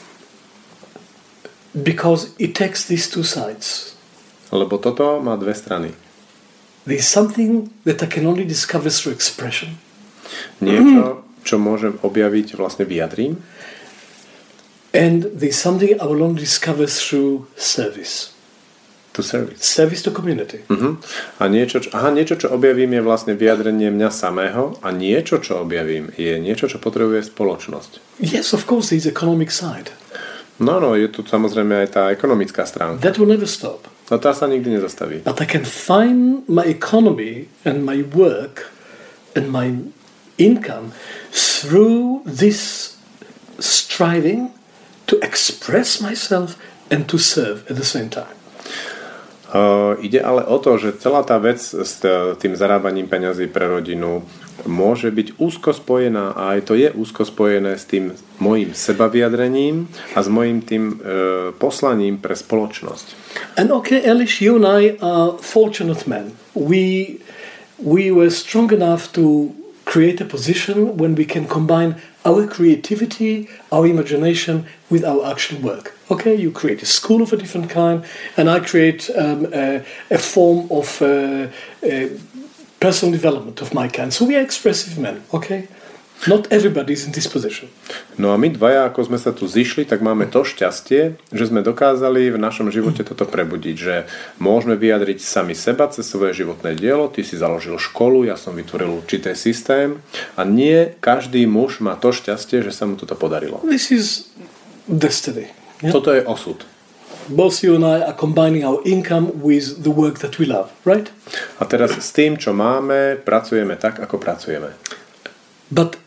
Because it takes these two sides. Lebo toto má dve strany. There is something that I can only discover through expression. Niečo, čo môžem objaviť, vlastne vyjadrím. And there is something I will only discover through service. To service. Service to community. Uh-huh. A niečo, čo, aha, niečo, čo objavím, je vlastne vyjadrenie mňa samého a niečo, čo objavím, je niečo, čo potrebuje spoločnosť. Yes, of course, there is economic side. No, no, je tu samozrejme aj tá ekonomická stránka. That will never stop. No tá sa nikdy nezastaví. But I can find my economy and my work and my income through this striving to express myself and to serve at the same time. Uh, ide ale o to, že celá tá vec s tým zarábaním peňazí pre rodinu môže byť úzko spojená a aj to je úzko spojené s tým mojím sebavyjadrením a s mojím tým uh, poslaním pre spoločnosť. And okay, Elish, you and I are fortunate men. We, we were strong enough to create a position when we can combine our creativity, our imagination with our actual work. Okay, you create a school of a different kind, and I create um, a, a form of uh, uh, personal development of my kind. So we are expressive men, okay? Not everybody is in this position. No a my dvaja, ako sme sa tu zišli, tak máme to šťastie, že sme dokázali v našom živote toto prebudiť, že môžeme vyjadriť sami seba cez svoje životné dielo. Ty si založil školu, ja som vytvoril určitý systém a nie každý muž má to šťastie, že sa mu toto podarilo. This is destiny. Yeah? Toto je osud. Both you and I are combining our income with the work that we love, right? A teraz s tým, čo máme, pracujeme tak, ako pracujeme. But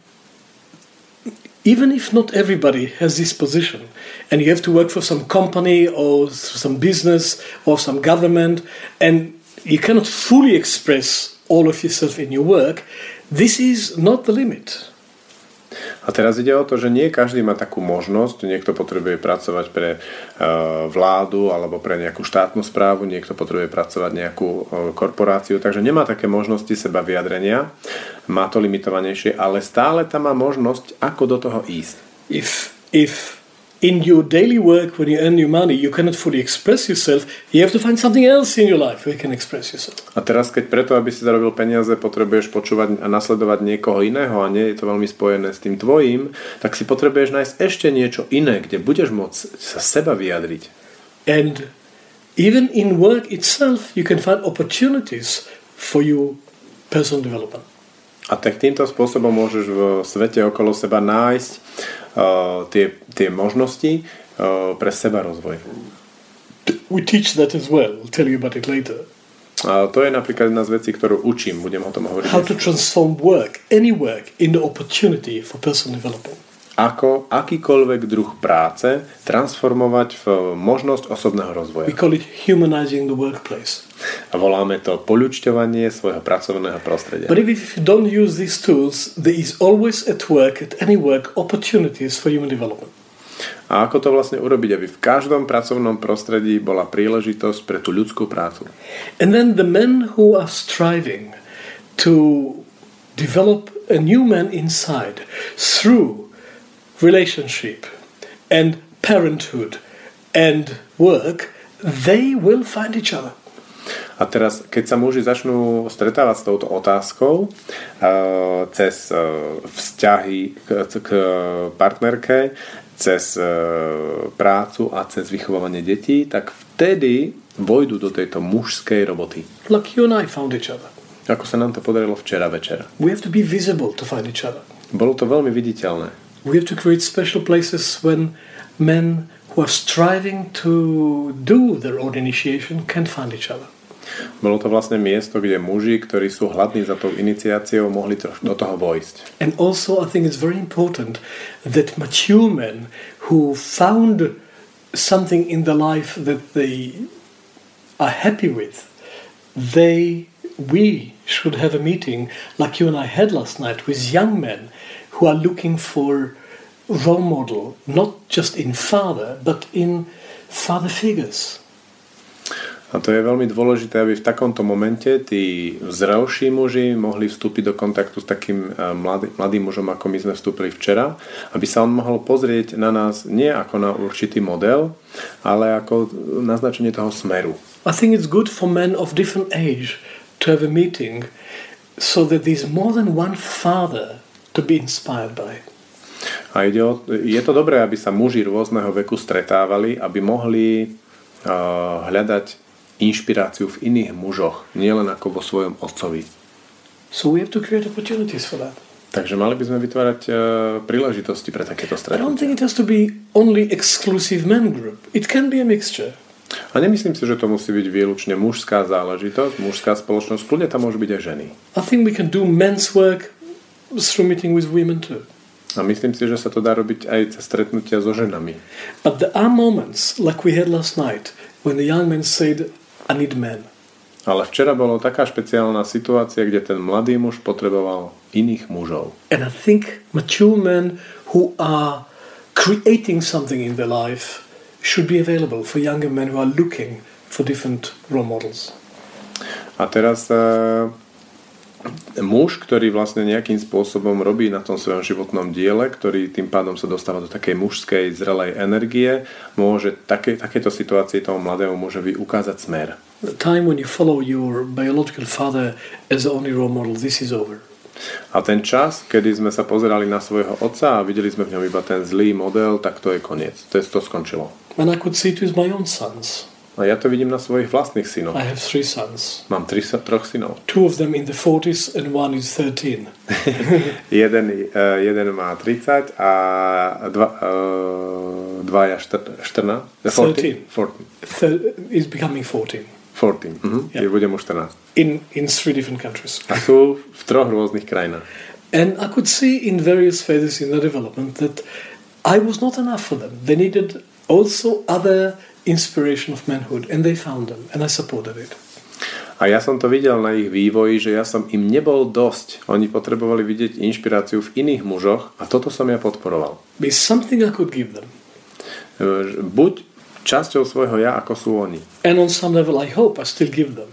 even if not everybody has this position and you have to work for some company or some business or some government and you cannot fully express all of yourself in your work, this is not the limit. A teraz ide o to, že nie každý má takú možnosť. Niekto potrebuje pracovať pre uh, vládu alebo pre nejakú štátnu správu, niekto potrebuje pracovať nejakú uh, korporáciu, takže nemá také možnosti seba vyjadrenia, má to limitovanejšie, ale stále tam má možnosť, ako do toho ísť. If, if in your daily work, when you earn your money, you cannot fully express yourself, you have to find something else in your life where you can express yourself. A teraz, keď preto, aby si zarobil peniaze, potrebuješ počúvať a nasledovať niekoho iného a nie je to veľmi spojené s tým tvojím, tak si potrebuješ nájsť ešte niečo iné, kde budeš môcť sa seba vyjadriť. And even in work itself, you can find opportunities for your personal development. A tak týmto spôsobom môžeš v svete okolo seba nájsť uh, tie, tie možnosti uh, pre seba rozvoj. We teach that as well. I'll tell you about it later. A to je napríklad jedna z vecí, ktorú učím. Budem o tom hovoriť. How to transform work, any work, into opportunity for personal development. Ako akýkoľvek druh práce transformovať v možnosť osobného rozvoja. We call it humanizing the workplace. A voláme to poľučťovanie svojho pracovného prostredia. But if you don't use these tools, there is always at work, at any work, opportunities for human development. A ako to vlastne urobiť, aby v každom pracovnom prostredí bola príležitosť pre tú ľudskú prácu. And then the men who are striving to develop a new man inside through relationship and parenthood and work, they will find each other. A teraz, keď sa muži začnú stretávať s touto otázkou uh, cez uh, vzťahy k, k partnerke, cez uh, prácu a cez vychovávanie detí, tak vtedy vojdu do tejto mužskej roboty. Like you and I found each other. Ako sa nám to podarilo včera večer. We have to be visible to find each other. Bolo to veľmi viditeľné. We have to create special places when men who are striving to do their own initiation can find each other. Bolo to vlastne miesto, kde muži, ktorí sú hladní za tou iniciáciou, mohli troš- do toho vojsť. And also I think it's very important that mature men who found something in their life that they are happy with, they, we should have a meeting like you and I had last night with young men who are looking for role model, not just in father, but in father figures. A to je veľmi dôležité, aby v takomto momente tí zrelší muži mohli vstúpiť do kontaktu s takým mladý, mladým mužom, ako my sme vstúpili včera, aby sa on mohol pozrieť na nás nie ako na určitý model, ale ako naznačenie toho smeru. I think it's good for men of different age to have a meeting so that there's more than one father to be inspired by. A ide o, je to dobré, aby sa muži rôzneho veku stretávali, aby mohli uh, hľadať inšpiráciu v iných mužoch, nielen ako vo svojom otcovi. So we have to create opportunities for that. Takže mali by sme vytvárať uh, príležitosti pre takéto I don't think stretnutia. it has to be only exclusive men group. It can be a mixture. A nemyslím si, že to musí byť výlučne mužská záležitosť, mužská spoločnosť, kľudne tam môžu byť aj ženy. I think we can do men's work through meeting with women too. A myslím si, že sa to dá robiť aj cez stretnutia so ženami. But there are moments, like we had last night, when the young man said, I need men. Ale včera bolo taká špeciálna situácia, kde ten mladý muž potreboval iných mužov. And I think mature men who are creating something in their life should be available for younger men who are looking for different role models. A teraz uh, muž, ktorý vlastne nejakým spôsobom robí na tom svojom životnom diele, ktorý tým pádom sa dostáva do takej mužskej, zrelej energie, môže také, takéto situácii tomu mladému mužovi ukázať smer. The time when you follow your biological father as the only role model, this is over. A ten čas, kedy sme sa pozerali na svojho otca a videli sme v ňom iba ten zlý model, tak to je koniec. To, je, to skončilo. And I could see it with my own sons. A ja to vidím na svojich vlastných synoch. I have three sons. Mám tri, troch synov. Two of them in the forties and one is thirteen. jeden, uh, jeden má tridsať a dva, uh, dvaja štrnásť. thirteen. fourteen. Thir- is becoming fourteen. fourteen. Uh-huh. Yeah. Je budem už štrnásť. In, in three different countries. A sú v troch rôznych krajinách. And I could see in various phases in their development that I was not enough for them. They needed also other inspiration of manhood, and they found them, and I supported it. A ja som to videl na ich vývoji, že ja som im nebol dosť. Oni potrebovali vidieť inšpiráciu v iných mužoch a toto som ja podporoval. There's something I could give them. Buď časťou svojho ja, ako sú oni. And on some level, I hope I still give them.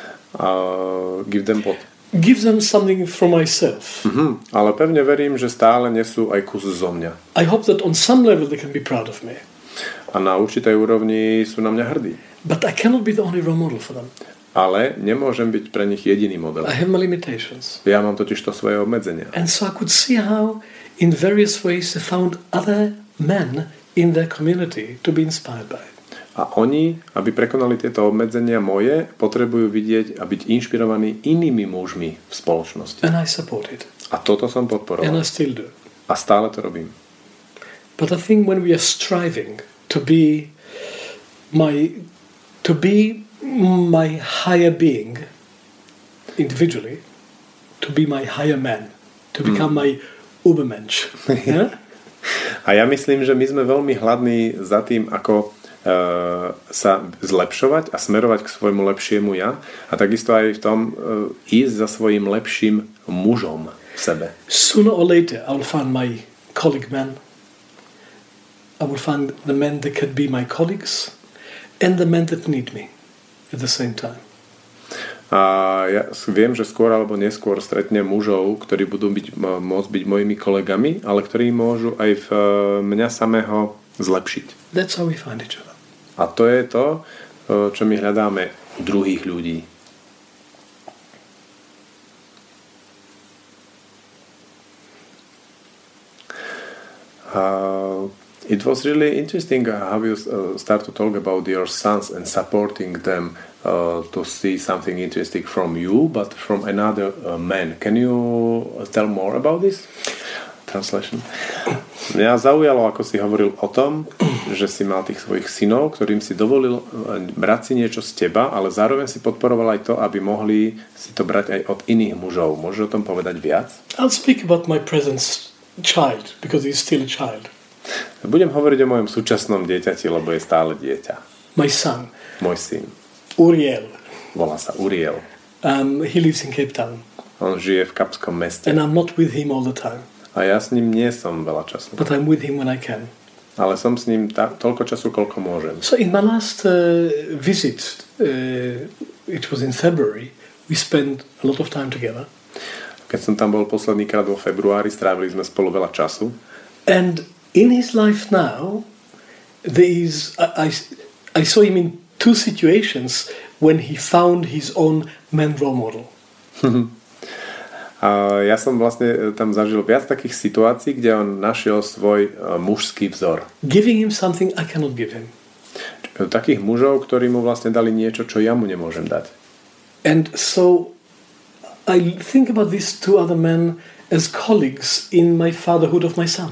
Uh, give them what? Give them something from myself. Uh-huh. Ale pevne verím, že stále nesú aj kus zo mňa. I hope that on some level they can be proud of me. A na určitej úrovni sú na mňa hrdí. But I cannot be the only role model for them. Ale nemôžem byť pre nich jediný model. I have my limitations. Ja mám totiž to svoje obmedzenia. And so I could see how in various ways they found other men in their community to be inspired by. A oni, aby prekonali tieto obmedzenia moje, potrebujú vidieť a byť inšpirovaní inými mužmi v spoločnosti. And I support it. A toto som And podporoval. I still do. A stále to robím. But I think when we are striving to be my to be my higher being individually, to be my higher man, to become mm. my Ubermensch. Yeah? A ja myslím, že my sme veľmi hladní za tým, ako uh, sa zlepšovať a smerovať k svojmu lepšiemu ja a takisto aj v tom uh, ísť za svojím lepším mužom v sebe. Sooner or later I will find my colleague man. I will find the men that can be my colleagues and the men that need me at the same time. A ja viem, že skôr alebo neskôr stretnem mužov, ktorí budú byť, môcť byť mojimi kolegami, ale ktorí môžu aj v mňa samého zlepšiť. That's how we find each other. A to je to, čo my hľadáme u druhých ľudí. Uh, it was really interesting how you uh, start to talk about your sons and supporting them uh, to see something interesting from you, but from another uh, man. Can you tell more about this? Translation. Mňa zaujalo, ako si hovoril o tom, že si mal tých svojich synov, ktorým si dovolil brať si niečo z teba, ale zároveň si podporoval aj to, aby mohli si to brať aj od iných mužov. Môžeš o tom povedať viac? I'll speak about my present child, because he's still a child. Budem hovoriť o mojom súčasnom dieťati, lebo je stále dieťa. My son. Môj syn. Uriel. Volá sa Uriel. Um, he lives in Cape Town. On žije v Kapskom meste. And I'm not with him all the time. A ja s ním nie som veľa času. But I'm with him when I can. Ale som s ním ta- toľko času, koľko môžem. So in my last uh, visit, uh, it was in February, we spent a lot of time together. Keď som tam bol posledný krát vo februári, strávili sme spolu veľa času. And in his life now, there is, I, I, I saw him in two situations when he found his own man role model. A ja som vlastne tam zažil viac takých situácií, kde on našiel svoj mužský vzor. Giving him something I cannot give him. Takých mužov, ktorí mu vlastne dali niečo, čo ja mu nemôžem dať. And so I think about these two other men as colleagues in my fatherhood of my son.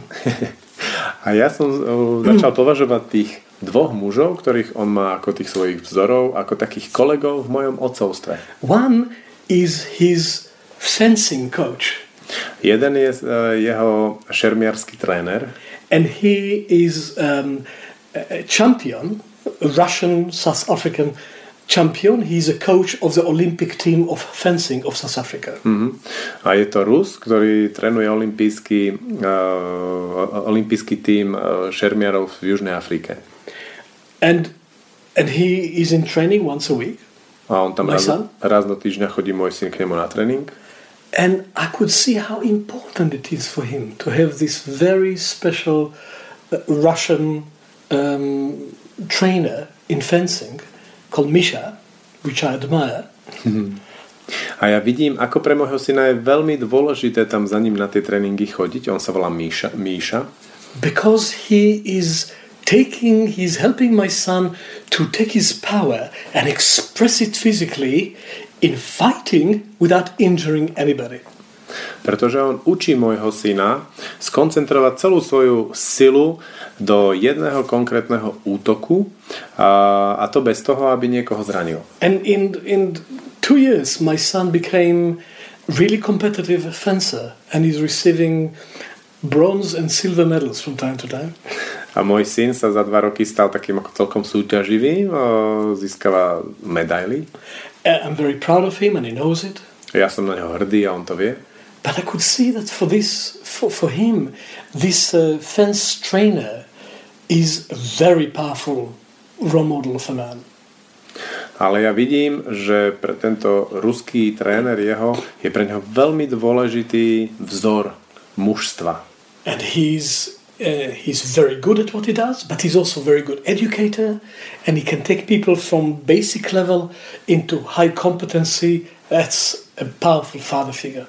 A ja som začal považovať tých dvoch mužov, ktorých on má ako tých svojich vzorov, ako takých kolegov v mojom otcovstve. One is his fencing coach. Jeden je uh, jeho šermiarsky tréner. And he is um, a champion, a Russian South African champion. He's a coach of the Olympic team of fencing of South Africa. Mm-hmm. A je to Rus, ktorý trénuje olimpijský, uh, olimpijský tým uh, šermiarov v Južnej Afrike. And, and he is in training once a week. A on tam raz, raz do týždňa chodí môj syn k nemu na tréning. And I could see how important it is for him to have this very special uh, Russian um, trainer in fencing called Misha, which I admire. A ja vidím, ako pre môjho syna je veľmi dôležité tam za ním na tie tréningy chodiť. On sa volá Míša. Míša. Because he is taking, he's helping my son to take his power and express it physically in fighting without injuring anybody. Pretože on učí môjho syna skoncentrovať celú svoju silu do jedného konkrétneho útoku a, a to bez toho, aby niekoho zranil. And in, in two years my son became really competitive fencer and he's receiving bronze and silver medals from time to time. A môj syn sa za dva roky stal takým ako celkom súťaživým, získava medaily. I'm very proud of him and he knows it. Ja som na neho hrdý a on to vie. But I could see that for this, for, for him, this uh, fence trainer is a very powerful role model of a man. Ale ja vidím, že pre tento ruský tréner jeho je pre neho veľmi dôležitý vzor mužstva. And he's uh, he's very good at what he does, but he's also very good educator, and he can take people from basic level into high competency. That's a powerful father figure.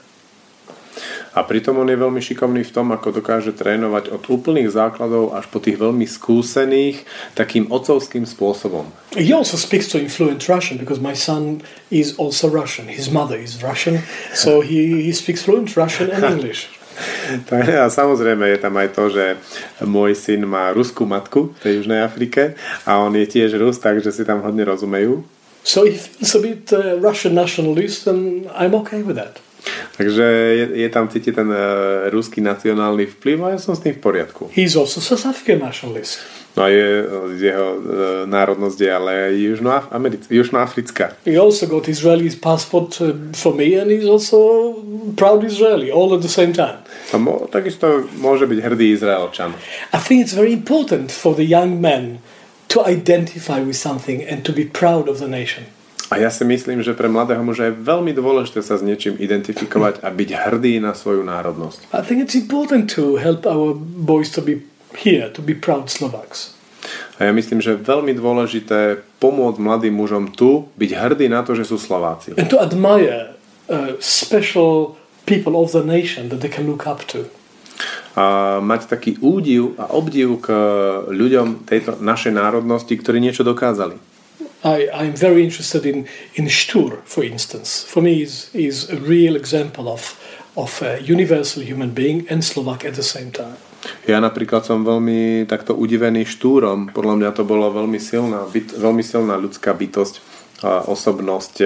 A pritom on je veľmi šikovný v tom, ako dokáže trénovať od úplných základov až po tých veľmi skúsených takým otcovským spôsobom. He also speaks to him fluent Russian because my son is also Russian. His mother is Russian, so he, he speaks fluent Russian and English. A samozrejme je tam aj to, že môj syn má ruskú matku v tej Južnej Afrike a on je tiež Rus, takže si tam hodne rozumejú. So he feels a bit uh, Russian nationalist and I'm okay with that. Takže je, je tam cítiť ten uh, ruský nacionálny vplyv a ja som s tým v poriadku. He's also South African nationalist. No a je, jeho uh, národnosť je ale južnoafrická. He also got Israeli passport uh, for me and he's also proud Israeli all at the same time. A mo, takisto môže byť hrdý Izraelčan. I think it's very important for the young men to identify with something and to be proud of the nation. A ja si myslím, že pre mladého muža je veľmi dôležité sa s niečím identifikovať a byť hrdý na svoju národnosť. I think it's important to help our boys to be here, to be proud Slovaks. A ja myslím, že je veľmi dôležité pomôcť mladým mužom tu, byť hrdý na to, že sú Slováci. And to admire uh, special people of the nation that they can look up to. A mať taký údiv a obdiv k ľuďom tejto našej národnosti, ktorí niečo dokázali. I, I'm very interested in, in Štur, for instance. For me, is is a real example of, of a universal human being and Slovak at the same time. Ja napríklad som veľmi takto udivený Štúrom. Podľa mňa to bolo veľmi silná, byt, veľmi silná ľudská bytosť a osobnosť.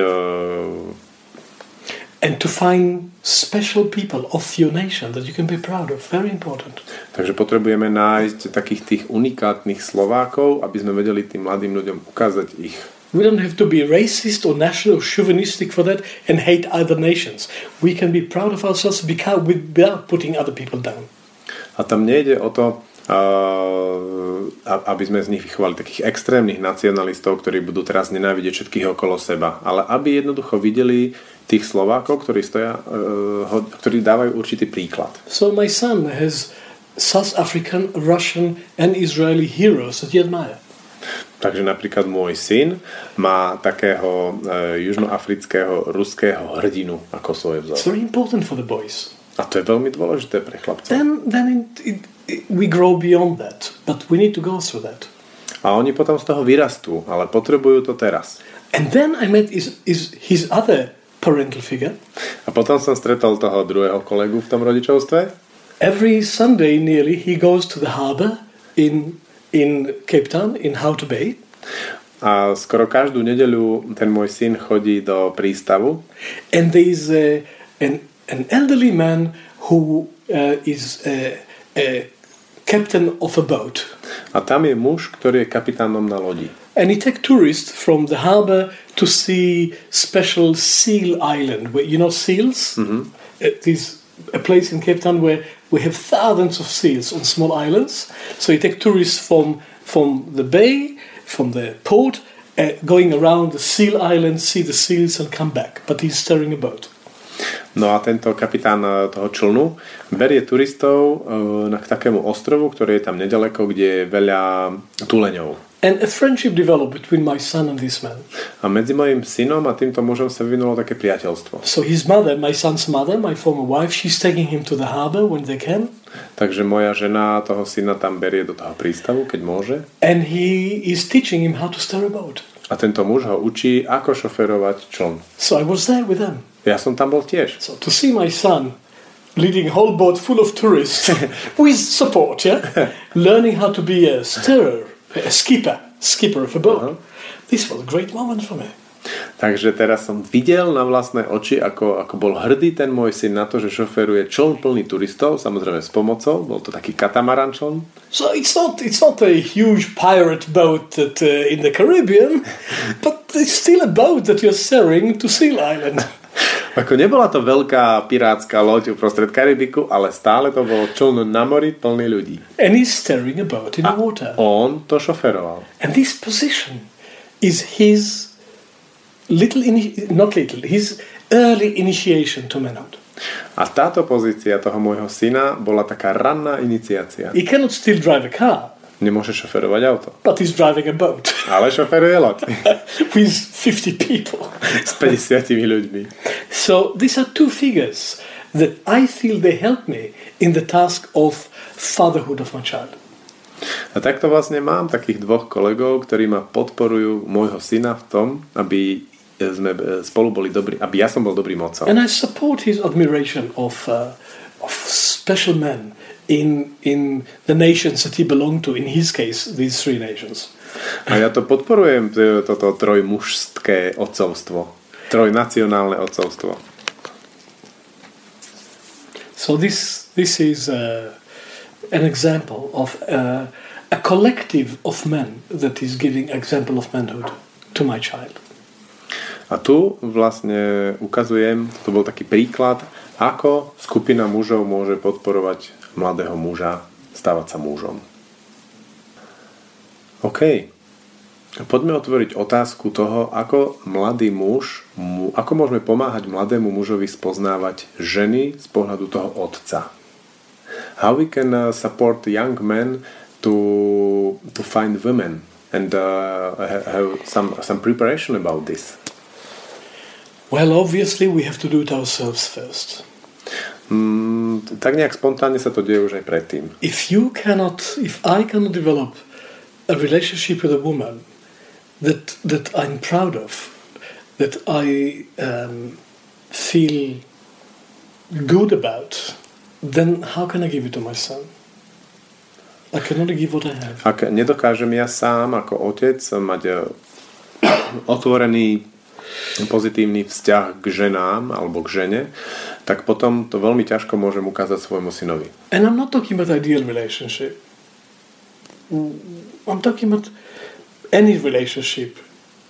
And to find special people of your nation that you can be proud of. Very important. Takže potrebujeme nájsť takých tých unikátnych Slovákov, aby sme vedeli tým mladým ľuďom ukázať ich We don't have to be racist or national or chauvinistic for that and hate other nations. We can be proud of ourselves because without putting other people down. A tam nejde o to, uh, aby sme z nich vychovali takých extrémnych nacionalistov, ktorí budú teraz nenávidieť všetkých okolo seba, ale aby jednoducho videli tých Slovákov, ktorí stoja, uh, ktorí dávajú určitý príklad. So my son has South African, Russian and Israeli heroes that he admire. Takže napríklad môj syn má takého uh, južnoafrického, ruského hrdinu ako svoje vzor. It's very important for the boys. A to je veľmi dôležité pre chlapcov. Then, then it, it, it, we grow beyond that, but we need to go through that. A oni potom z toho vyrastú, ale potrebujú to teraz. And then I met his, his, his other parental figure. A potom som stretol toho druhého kolegu v tom rodičovstve. Every Sunday nearly he goes to the harbour in in Cape Town, in Hout Bay. A skoro každú nedeľu ten môj syn chodí do prístavu. And there is a, an, an elderly man who uh, is a, a captain of a boat. A tam je muž, ktorý je kapitánom na lodi. And he takes tourists from the harbour to see special seal island. Where, you know seals? Mm-hmm. It is a place in Cape Town where we have thousands of seals on small islands. So you take tourists from from the bay, from the port, uh, going around the seal island, see the seals and come back. But he's steering a boat. No a tento kapitán toho člnu berie turistov uh, na k takému ostrovu, ktorý je tam nedaleko, kde je veľa tuleňov. And a friendship developed between my son and this man. A medzi mojim synom a týmto mužom sa vyvinulo také priateľstvo. So his mother, my son's mother, my former wife, she's taking him to the harbor when they can. Takže moja žena toho syna tam berie do toho prístavu, keď môže. And he is teaching him how to steer a boat. A tento muž ho učí, ako šoferovať čln. So I was there with them. Ja som tam bol tiež. So to see my son leading a whole boat full of tourists with support, yeah, learning how to be a steerer, a skipper, skipper of a boat. Uh-huh. This was a great moment for me. Takže teraz som videl na vlastné oči, ako, ako bol hrdý ten môj syn na to, že šoferuje čln plný turistov, samozrejme s pomocou, bol to taký katamaran čln. So it's not, it's not a huge pirate boat that, uh, in the Caribbean, but it's still a boat that you're steering to Seal Island. Ako nebola to veľká pirátska loď uprostred Karibiku, ale stále to bolo čln na mori plný ľudí. And he's steering a boat in a the water. On to šoferoval. And this position is his little, ini- not little, his early initiation to manhood. A táto pozícia toho môjho syna bola taká ranná iniciácia. He cannot still drive a car. Nemôže šoferovať auto. But he's driving a boat. Ale šoferuje loď. With fifty people. S päťdesiatimi ľuďmi. So these are two figures that I feel they help me in the task of fatherhood of my child. A takto vlastne mám takých dvoch kolegov, ktorí ma podporujú môjho syna v tom, aby sme spolu boli dobrí, aby ja som bol dobrým otcom. And I support his admiration of uh, of special men in in the nations that he belonged to, in his case these three nations. A ja to podporujem, toto trojmužské otcovstvo, trojnacionálne otcovstvo. So this this is uh, an example of uh, a collective of men that is giving example of manhood to my child. A tu vlastne ukazujem, to bol taký príklad, ako skupina mužov môže podporovať mladého muža stávať sa mužom. OK. Poďme otvoriť otázku toho, ako mladý muž, ako môžeme pomáhať mladému mužovi spoznávať ženy z pohľadu toho otca. How we can uh, support young men to to find women and uh, have some some preparation about this. Well, obviously we have to do it ourselves first. Mm, tak nejak spontánne sa to deje už aj predtým. If you cannot, if I cannot develop a relationship with a woman that that I'm proud of, that I um, feel good about, then how can I give it to my son? I can only give what I have. Ak nedokážem ja sám ako otec mať otvorený pozitívny vzťah k ženám alebo k žene, tak potom to veľmi ťažko môžem ukázať svojmu synovi. And I'm not talking about ideal relationship. I'm talking about any relationship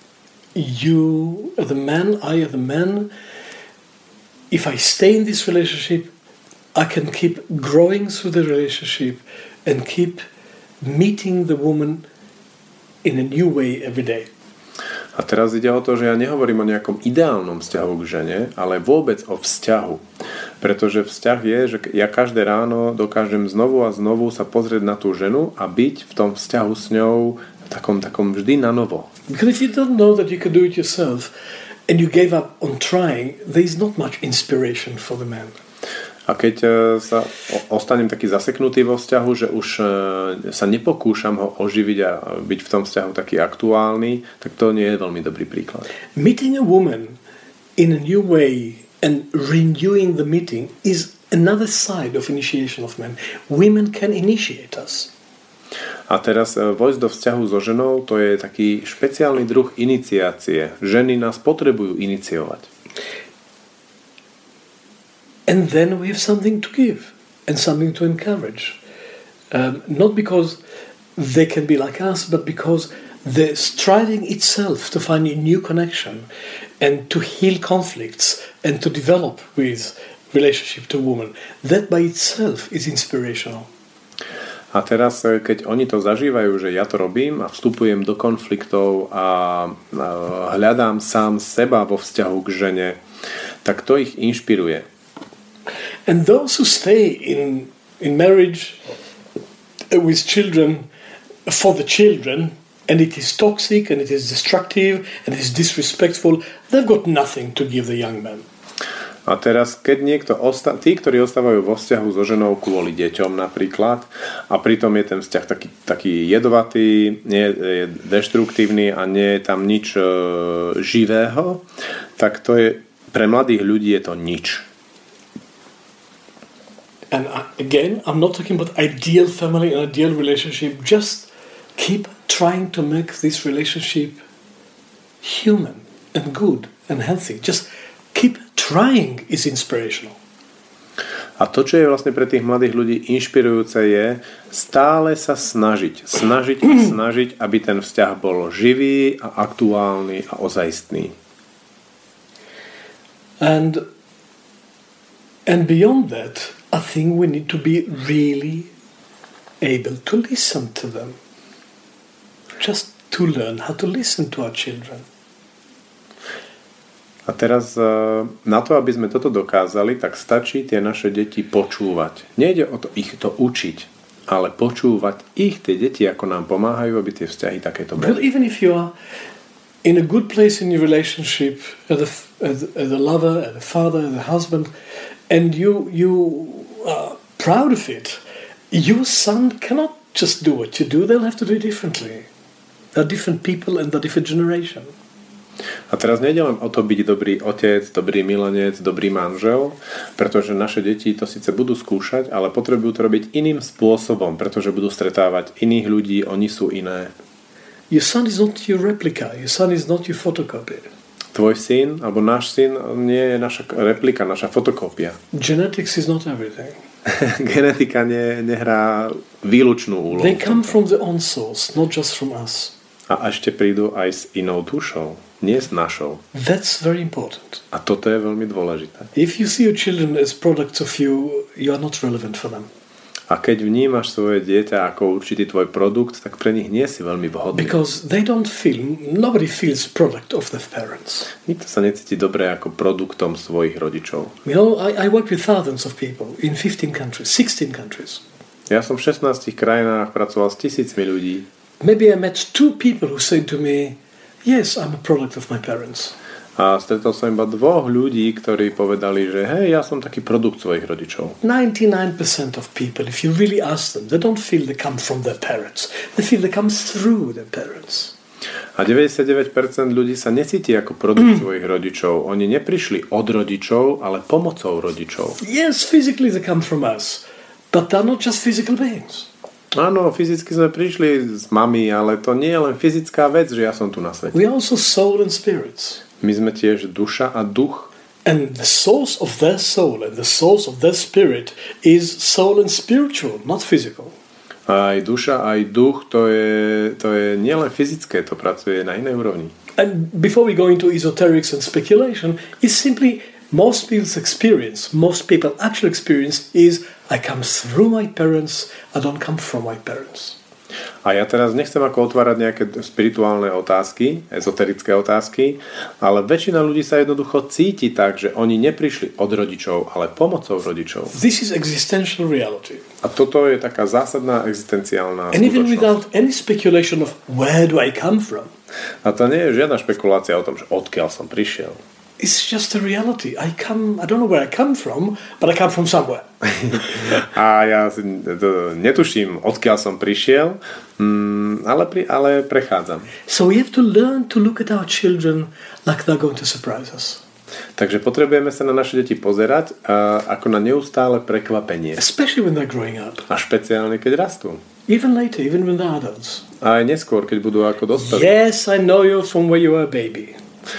you are the man, I are the man. If I stay in this relationship, I can keep growing through the relationship and keep meeting the woman in a new way every day. A teraz ide o to, že ja nehovorím o nejakom ideálnom vzťahu k žene, ale vôbec o vzťahu. Pretože vzťah je, že ja každé ráno dokážem znovu a znovu sa pozrieť na tú ženu a byť v tom vzťahu s ňou v takom, takom vždy na novo. Because if you don't know that you can do it yourself and you gave up on trying, there is not much inspiration for the man. A keď sa ostanem taký zaseknutý vo vzťahu, že už sa nepokúšam ho oživiť a byť v tom vzťahu taký aktuálny, tak to nie je veľmi dobrý príklad. Meeting a woman in a new way and renewing the meeting is another side of initiation of men. Women can initiate us. A teraz vojsť do vzťahu so ženou, to je taký špeciálny druh iniciácie. Ženy nás potrebujú iniciovať. And then we have something to give and something to encourage. Um, not because they can be like us, but because the striving itself to find a new connection and to heal conflicts and to develop with relationship to woman, that by itself is inspirational. A teraz, keď oni to zažívajú, že ja to robím a vstupujem do konfliktov a hľadám sám seba vo vzťahu k žene, tak to ich inšpiruje. And those who stay in in marriage with children for the children, and it is toxic and it is destructive and it is disrespectful, they've got nothing to give the young man. A teraz, keď niekto osta- tí, ktorí ostávajú vo vzťahu so ženou kvôli deťom napríklad, a pritom je ten vzťah taký, taký jedovatý, nie je deštruktívny a nie je tam nič e, živého, tak to je, pre mladých ľudí je to nič. And again, I'm not talking about ideal family and ideal relationship. Just keep trying to make this relationship human and good and healthy. Just keep trying is inspirational. A to, čo je vlastne pre tých mladých ľudí inšpirujúce, je stále sa snažiť. Snažiť a snažiť, aby ten vzťah bol živý a aktuálny a ozajstný. And, and beyond that, I think we need to be really able to listen to them. Just to learn how to listen to our children. A teraz na to, aby sme toto dokázali, tak stačí tie naše deti počúvať. Nejde o to ich to učiť, ale počúvať ich, tie deti, ako nám pomáhajú, aby tie vzťahy takéto boli. But even if you are in a good place in your relationship, as a, as, as a lover, as a father, as a husband, and you you are proud of it, your son cannot just do what you do. They'll have to do it differently. They're different people and they're different generation. A teraz nejde len o to byť dobrý otec, dobrý milenec, dobrý manžel, pretože naše deti to síce budú skúšať, ale potrebujú to robiť iným spôsobom, pretože budú stretávať iných ľudí, oni sú iné. Your son is not your replica. Your son is not your photocopy. Tvoj syn, alebo náš syn nie je naša replika, naša fotokópia. Genetics is not everything. Genetika ne, nehrá výlučnú úlohu. They come from the own source, not just from us. A ešte prídu aj s inou dušou, nie s našou. That's very important. A toto je veľmi dôležité. If you see your children as products of you, you are not relevant for them. A keď vnímaš svoje dieťa ako určitý tvoj produkt, tak pre nich nie si veľmi vhodný. Because they don't feel, nobody feels product of their parents. Nikto sa necíti dobre ako produktom svojich rodičov. You know, I, I work with thousands of people in fifteen countries, sixteen countries. Ja som v šestnástich krajinách pracoval s tisícmi ľudí. Maybe I met two people who said to me, yes, I'm a product of my parents. A stretol som iba dvoch ľudí, ktorí povedali, že hej, ja som taký produkt svojich rodičov. ninety-nine percent of people, if you really ask them, they don't feel they come from their parents. They feel they come through their parents. A deväťdesiatdeväť percent ľudí sa necíti ako produkt svojich rodičov. Oni neprišli od rodičov, ale pomocou rodičov. Yes, physically they come from us, but they're not just physical beings. Áno, fyzicky sme prišli z mami, ale to nie je len fyzická vec, že ja som tu na svete. We are also soul and spirits. My sme tiež duša a duch. And the source of their soul and the source of their spirit is soul and spiritual, not physical. Aj duša, aj duch, to je, to je nielen fyzické, to pracuje na inej úrovni. and before we go into esoterics and speculation, is simply most people's experience, most people actual experience is I come through my parents, I don't come from my parents. A ja teraz nechcem ako otvárať nejaké spirituálne otázky, ezoterické otázky, ale väčšina ľudí sa jednoducho cíti tak, že oni neprišli od rodičov, ale pomocou rodičov. This is existential reality. A toto je taká zásadná existenciálna And even skutočnosť. without any speculation of where do I come from. A to nie je žiadna špekulácia o tom, že odkiaľ som prišiel. It's just a reality. I come, I don't know where I come from, but I come from somewhere. A ja si to, netuším, odkiaľ som prišiel, mm, ale, pri, ale prechádzam. So we have to learn to look at our children like they're going to surprise us. Takže potrebujeme sa na naše deti pozerať a, ako na neustále prekvapenie. Especially when they're growing up. A špeciálne, keď rastú. Even later, even when they're adults. A aj neskôr, keď budú ako dospelí. Yes, I know you from where you were a baby.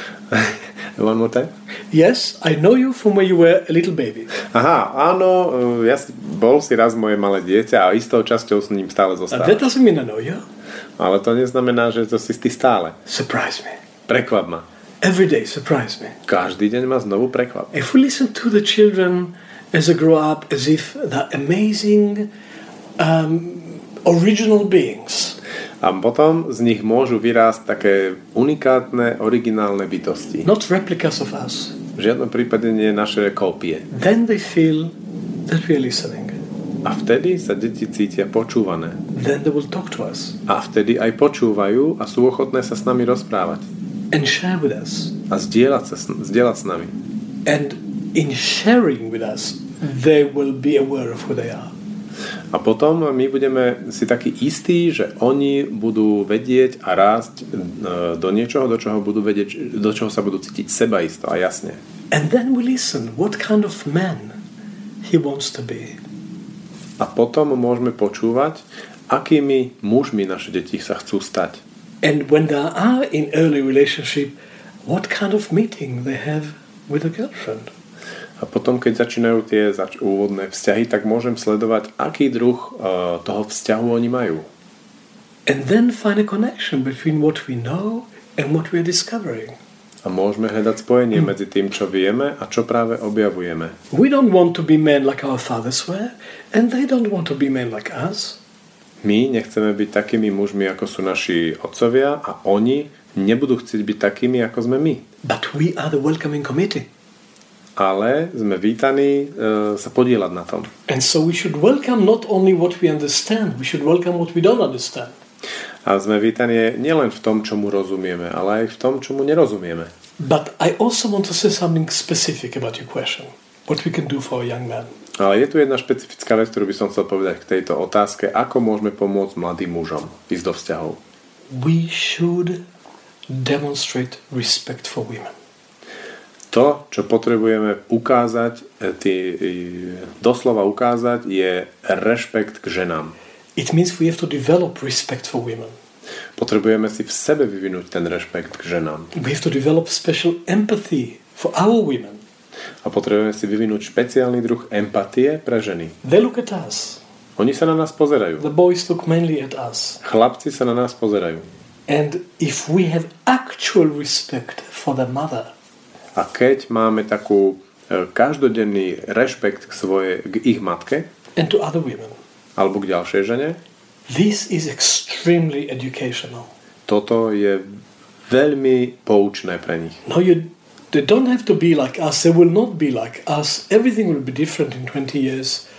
One more time? Yes, I know you from where you were a little baby. Aha, áno, ja si, bol si raz moje malé dieťa a istou časťou s ním stále And zostávaš. that doesn't mean I know you. Ale to neznamená, že to si ty stále. Surprise me. Prekvap ma. Every day, surprise me. Každý deň ma znovu prekvap. If we listen to the children as they grow up as if they're amazing, um, original beings. A potom z nich môžu vyrásť také unikátne, originálne bytosti. Not replicas of us. V žiadnom prípade nie naše kópie. Then they feel that we are listening. A vtedy sa deti cítia počúvané. Then they will talk to us. A vtedy aj počúvajú a sú ochotné sa s nami rozprávať. And share with us. A zdieľať, sa, zdieľať s nami. And in sharing with us, they will be aware of who they are. A potom my budeme si takí istí, že oni budú vedieť a rásť do niečoho, do čoho budú vedieť, do čoho sa budú cítiť sebaisto a jasne. And then we listen what kind of man he wants to be. A potom môžeme počúvať, akými mužmi naše deti sa chcú stať. And when they are in early relationship, what kind of meeting they have with a girlfriend. A potom, keď začínajú tie zač- úvodné vzťahy, tak môžem sledovať, aký druh uh, toho vzťahu oni majú. And then find a connection between what we know and what we are discovering. A môžeme hľadať spojenie hmm. medzi tým, čo vieme a čo práve objavujeme. We don't want to be men like our fathers were, and they don't want to be men like us. My nechceme byť takými mužmi, ako sú naši otcovia, a oni nebudú chcieť byť takými, ako sme my. But we are the welcoming committee. Ale sme vítaní e, sa podieľať na tom. And so we should welcome not only what we understand, we should welcome what we don't understand. A sme vítaní nielen v tom, čomu rozumieme, ale aj v tom, čomu nerozumieme. But I also want to say something specific about your question. What we can do for a young man. Ale je tu jedna špecifická vec, ktorú by som chcel povedať k tejto otázke, ako môžeme pomôcť mladým mužom ísť do vzťahov. We should demonstrate respect for women. To, čo potrebujeme ukázať, tý, doslova ukázať, je rešpekt k ženám. It means we have to develop respect for women. Potrebujeme si v sebe vyvinúť ten rešpekt k ženám. We have to develop special empathy for our women. A potrebujeme si vyvinúť špeciálny druh empatie pre ženy. They look at us. Oni sa na nás pozerajú. The boys look mainly at us. Chlapci sa na nás pozerajú. And if we have actual respect for the mother, a keď máme takú e, každodenný rešpekt k, svoje, k ich matke and to other women, alebo k ďalšej žene, this is extremely educational. Toto je veľmi poučné pre nich. No, you, they don't have to be like us. They will not be like us. Everything will be different in twenty years.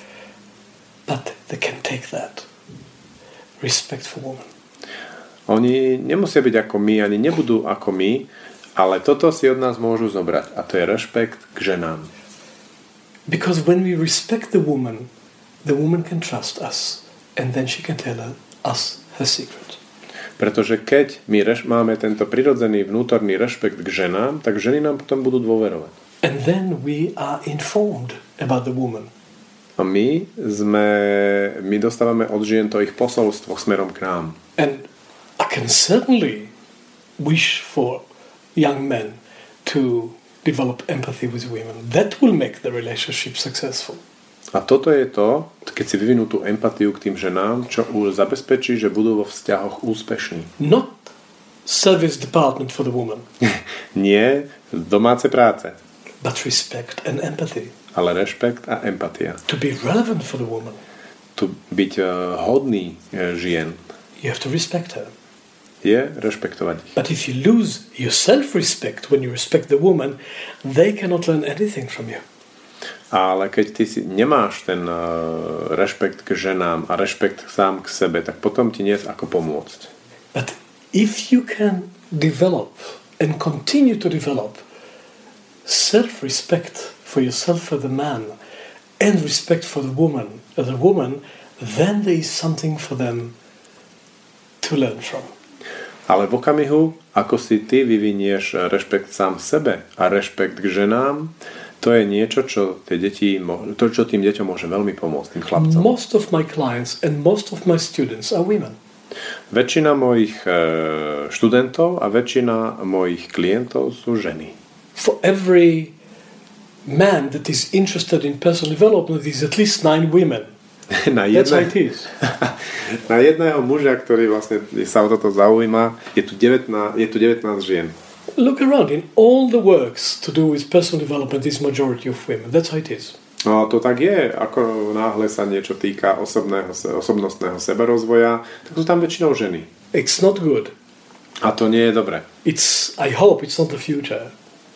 But they can take that. Respect for women. Oni nemusia byť ako my, ani nebudú ako my, ale toto si od nás môžu zobrať. A to je rešpekt k ženám. Because when we respect the woman, the woman can trust us. And then she can tell her, us her secret. Pretože keď my reš- máme tento prirodzený vnútorný rešpekt k ženám, tak ženy nám potom budú dôverovať. And then we are informed about the woman. A my sme, my dostávame od žien to ich posolstvo smerom k nám. And I can certainly wish for young men to develop empathy with women. That will make the relationship successful. A toto je to, keď si vyvinú tú empatiu k tým ženám, čo už zabezpečí, že budú vo vzťahoch úspešní. Not service department for the woman. Nie domáce práce, But respect and empathy. ale rešpekt a empatia. To be relevant for the woman, Tu byť uh, hodný uh, žien you have to respect her. je rešpektovať ich. But if you lose your self-respect when you respect the woman, they cannot learn anything from you. Ale keď ty si nemáš ten uh, rešpekt k ženám a rešpekt sám k sebe, tak potom ti nie je ako pomôcť. But if you can develop and continue to develop self-respect for yourself as a man and respect for the woman as a woman, then there is something for them to learn from. Ale v okamihu, ako si ty vyvinieš rešpekt sám sebe a rešpekt k ženám, to je niečo, čo, tie deti, to, čo tým deťom môže veľmi pomôcť, tým chlapcom. Most of my clients and most of my students are women. Väčšina mojich študentov a väčšina mojich klientov sú ženy. For every man that is interested in personal development, there is at least nine women. Na, That's how jedne, it is. na jedného muža, ktorý vlastne sa o toto zaujíma, je tu devätnásť, je tu devätnásť žien. Look around. In all the works to do with personal development is majority of women. That's how it is. No to tak je, ako náhle sa niečo týka osobného, osobnostného seberozvoja, tak sú tam väčšinou ženy. It's not good. A to nie je dobré. It's. I hope it's not the future.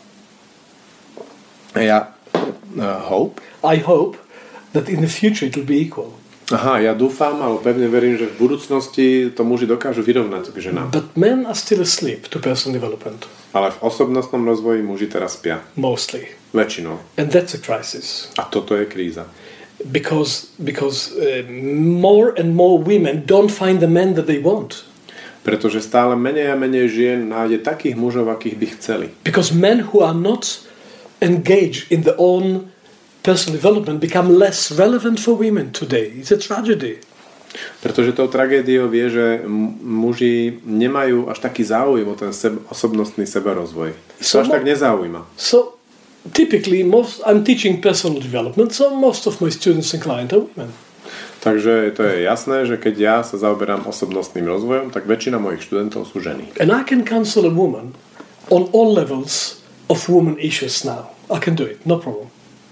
Ja uh, hope. I hope that in the future it will be equal. Aha, ja dúfam, ale pevne verím, že v budúcnosti to muži dokážu vyrovnať k ženám. But men are still asleep to personal development. Ale v osobnostnom rozvoji muži teraz spia. Mostly. Väčšinou. And that's a crisis. A toto je kríza. Because because uh, more and more women don't find the men that they want. Pretože stále menej a menej žien nájde takých mužov, akých by chceli. Because men who are not engaged in their own personal development become less relevant for women today. It's a tragedy. Pretože tou tragédiou je, že muži nemajú až taký záujem o ten seb- osobnostný seberozvoj. So to až mo- tak nezaujíma. So typically, most I'm teaching personal development, so most of my students and clients are women. Takže to je jasné, že keď ja sa zaoberám osobnostným rozvojom, tak väčšina mojich študentov sú ženy. And I can counsel a woman on all levels of woman issues now. I can do it, no problem.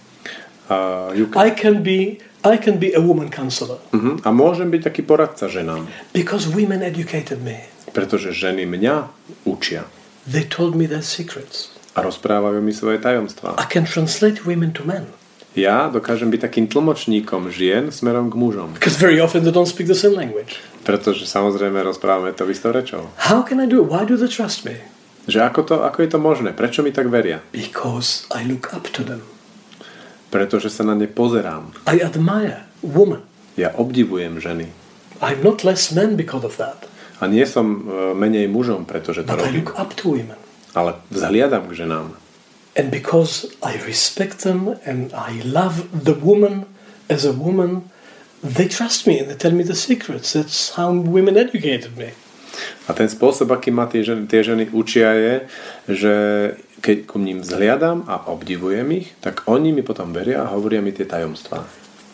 Uh, can... I can be I can be a woman counselor. Uh-huh. A môžem byť taký poradca ženám. Because women educated me. Pretože ženy mňa učia. They told me their secrets. A rozprávajú mi svoje tajomstvá. I can translate women to men. Ja dokážem byť takým tlmočníkom žien smerom k mužom. Because very often they don't speak the same language. Pretože samozrejme rozprávame to istou rečou. How can I do it? Why do they trust me? Že ako, to, ako je to možné? Prečo mi tak veria? Because I look up to them. Pretože sa na ne pozerám. I admire women. Ja obdivujem ženy. I'm not less men because of that. A nie som menej mužom, pretože to But I robím. look up to women. Ale vzhliadam k ženám. And because I respect them and I love the woman as a woman, they trust me and they tell me the secrets. That's how women educated me. A ten spôsob, aký ma tie ženy, tie ženy učia je, že keď ku ním vzhliadam a obdivujem ich, tak oni mi potom veria a hovoria mi tie tajomstvá.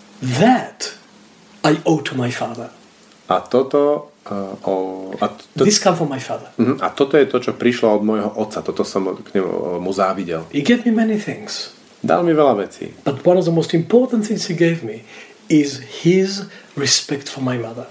That I owe to my father. A toto uh, o, a, to, This come from my father. uh, a toto je to, čo prišlo od môjho otca. Toto som k nemu, mu závidel. He gave me many things. Dal mi veľa vecí. But one of the most important things he gave me is his respect for my mother.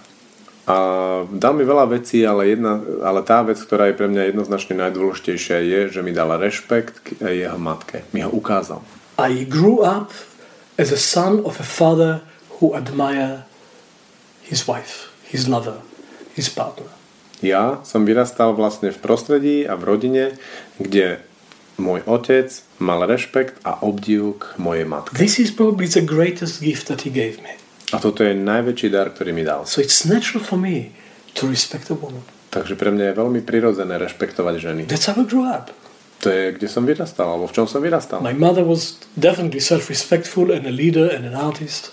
A dal mi veľa vecí, ale, jedna, ale tá vec, ktorá je pre mňa jednoznačne najdôležitejšia, je, že mi dala rešpekt k jeho matke. Mi ho ukázal. I grew up as a son of a father who admired his wife, his lover, his partner. Ja som vyrastal vlastne v prostredí a v rodine, kde môj otec mal rešpekt a obdiv k mojej matke. This is probably the greatest gift that he gave me. A toto je najväčší dar, ktorý mi dal. So it's natural for me to respect a woman. Takže pre mňa je veľmi prirodzené rešpektovať ženy. That's how I grew up. To je, kde som vyrastal, alebo v čom som vyrastal. My mother was definitely self-respectful and a leader and an artist.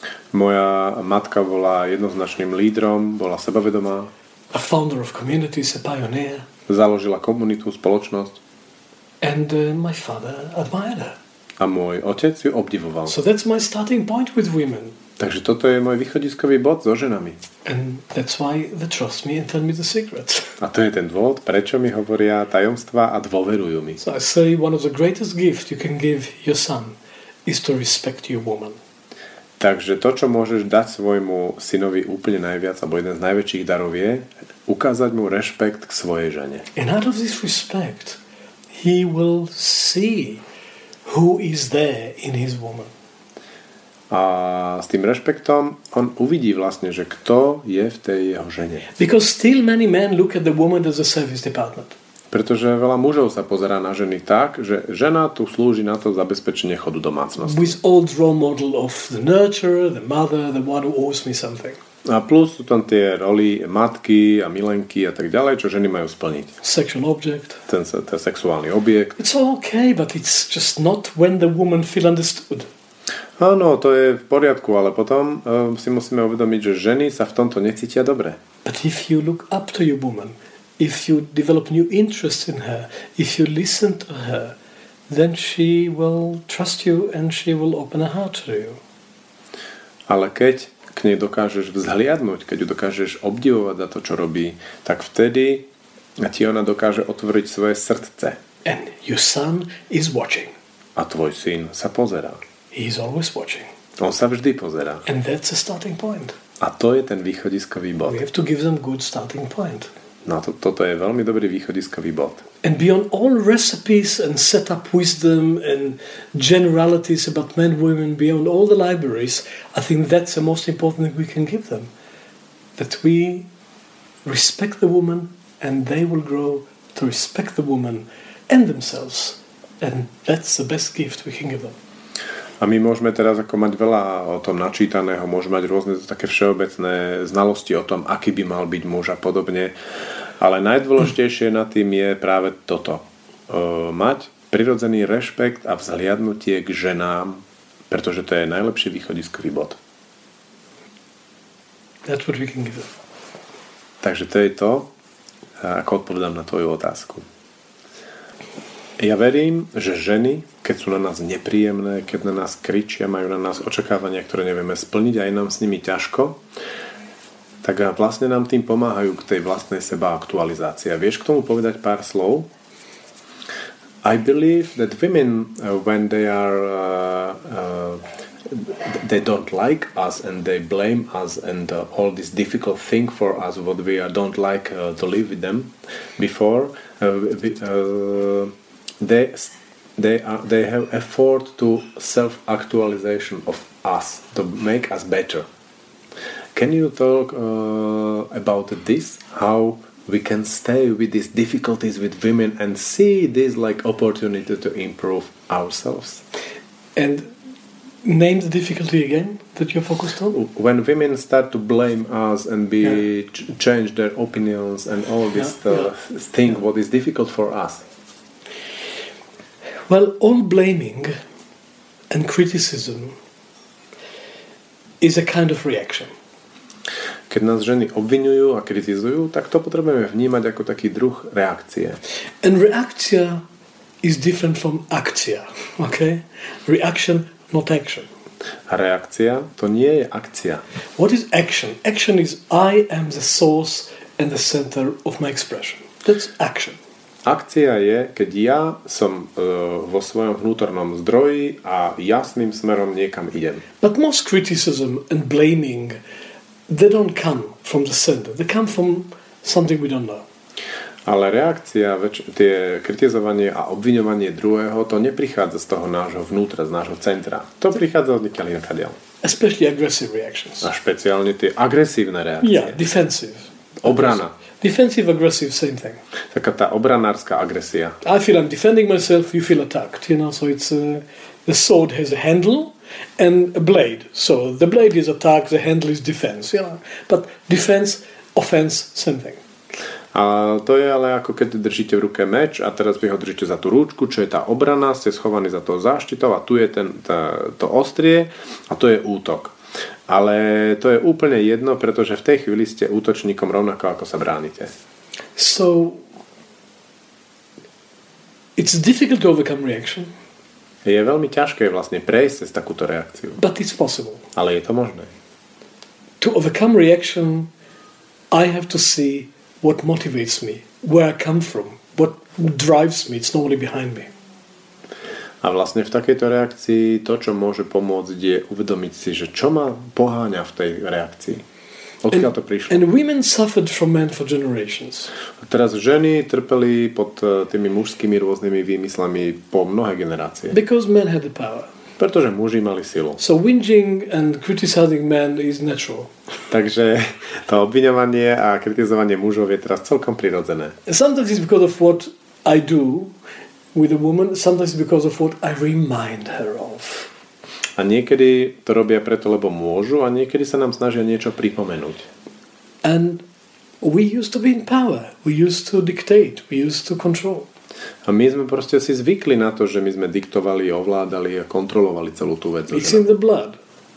Moja matka bola jednoznačným lídrom, bola sebavedomá. A founder of communities, a pioneer. Založila komunitu, spoločnosť. And uh, my father admired her. A môj otec ju obdivoval. So that's my starting point with women. Takže toto je môj východiskový bod so ženami. And that's why they trust me and tell me the secrets. A to je ten dôvod, prečo mi hovoria tajomstvá a dôverujú mi. So I say one of the greatest gifts you can give your son is to respect your woman. Takže to, čo môžeš dať svojmu synovi úplne najviac, alebo jeden z najväčších darov je ukázať mu rešpekt k svojej žene. And out of this respect, he will see who is there in his woman. A s tým rešpektom on uvidí vlastne, že kto je v tej jeho žene. Because still many men look at the woman as a service department. Pretože veľa mužov sa pozerá na ženy tak, že žena tu slúži na to zabezpečenie chodu domácnosti. With old role model of the nurturer, the mother, the one who owes me something. A plus sú tam tie roly matky a milenky a tak ďalej, čo ženy majú splniť. Sexual object. Ten, ten sexuálny objekt. It's all okay, but it's just not when the woman feel understood. Áno, to je v poriadku, ale potom uh, si musíme uvedomiť, že ženy sa v tomto necítia dobre. But if you look up to your woman, if you develop new interest in her, if you listen to her, then she will trust you and she will open her heart to you. Ale keď k nej dokážeš vzhliadnúť, keď ju dokážeš obdivovať za to, čo robí, tak vtedy ti ona dokáže otvoriť svoje srdce. And your son is watching. A tvoj syn sa pozerá. He is always watching. On sa vždy pozerá. And that's a starting point. A to je ten východiskový bod. We have to give them good starting point. No to, toto je veľmi dobrý východiskový bod. And beyond all recipes and set up wisdom and generalities about men, women, beyond all the libraries, I think that's the most important thing we can give them. That we respect the woman and they will grow to respect the woman and themselves. And that's the best gift we can give them. A my môžeme teraz ako mať veľa o tom načítaného, môžeme mať rôzne také všeobecné znalosti o tom, aký by mal byť muž a podobne. Ale najdôležitejšie na tým je práve toto. E, mať prirodzený rešpekt a vzhliadnutie k ženám, pretože to je najlepší východiskový bod. That's what we can give them. Takže to je to, ako odpovedám na tvoju otázku. Ja verím, že ženy, keď sú na nás nepríjemné, keď na nás kričia, majú na nás očakávania, ktoré nevieme splniť a je nám s nimi ťažko, tak vlastne nám tým pomáhajú k tej vlastnej sebaaktualizácii. A vieš k tomu povedať pár slov? I believe that women, uh, when they are uh, uh, they don't like us and they blame us and uh, all this difficult thing for us what we uh, don't like uh, to live with them before uh, we, uh, they they are they have effort to self-actualization of us to make us better. Can you talk uh, about this? How we can stay with these difficulties with women and see this like opportunity to improve ourselves? And name the difficulty again that you're focused on. When women start to blame us and be yeah. ch- change their opinions and all this yeah, uh, yeah. thing, what is difficult for us? Well, all blaming and criticism is a kind of reaction. Keď nás ženy obviňujú a kritizujú, tak to potrebujeme vnímať ako taký druh reakcie. And reakcia is different from akcia, okay? Reaction, not action. A reakcia to nie je akcia. What is action? Action is I am the source and the center of my expression. That's action. Akcia je, keď ja som uh, vo svojom vnútornom zdroji a jasným smerom niekam idem. But most criticism and blaming, they don't come from the center. They come from something we don't know. Ale reakcia, väč- tie kritizovanie a obviňovanie druhého, to neprichádza z toho nášho vnútra, z nášho centra. To prichádza od nikiaľ inokadiaľ. Especially aggressive reactions. A špeciálne tie agresívne reakcie. Yeah, defensive. Obrana. Defensive, aggressive, same thing. Taká tá obranárska agresia. I feel I'm defending myself, you feel attacked. You know, so it's uh, the sword has a handle and a blade. So the blade is attack, the handle is defense. You know, but defense, offense, same thing. A to je ale ako keď držíte v ruke meč a teraz vy ho držíte za tú rúčku, čo je tá obrana, ste schovaní za tou záštitou a tu je ten, tá, to ostrie a to je útok. Ale to je úplne jedno, pretože v tej chvíli ste útočníkom rovnako, ako sa bránite. So it's difficult to overcome reaction. Je veľmi ťažké vlastne prejsť cez takúto reakciu. But it's possible. Ale je to možné. To overcome reaction, I have to see what motivates me, where I come from, what drives me. It's normally behind me. A vlastne v takejto reakcii to, čo môže pomôcť, je uvedomiť si, že čo ma poháňa v tej reakcii. Odkiaľ to prišlo. And women suffered from men for generations. A teraz ženy trpeli pod tými mužskými rôznymi výmyslami po mnohé generácie. Because men had the power. Pretože muži mali silu. So whinging and criticizing men is natural. Takže to obviňovanie a kritizovanie mužov je teraz celkom prirodzené. And sometimes it's because of what I do with a woman, sometimes it's because of what I remind her of. A niekedy to robia preto, lebo môžu, a niekedy sa nám snažia niečo pripomenúť. And we used to be in power. We used to dictate. We used to control. A my sme proste si zvykli na to, že my sme diktovali, ovládali a kontrolovali celú tú vec. It's in the blood.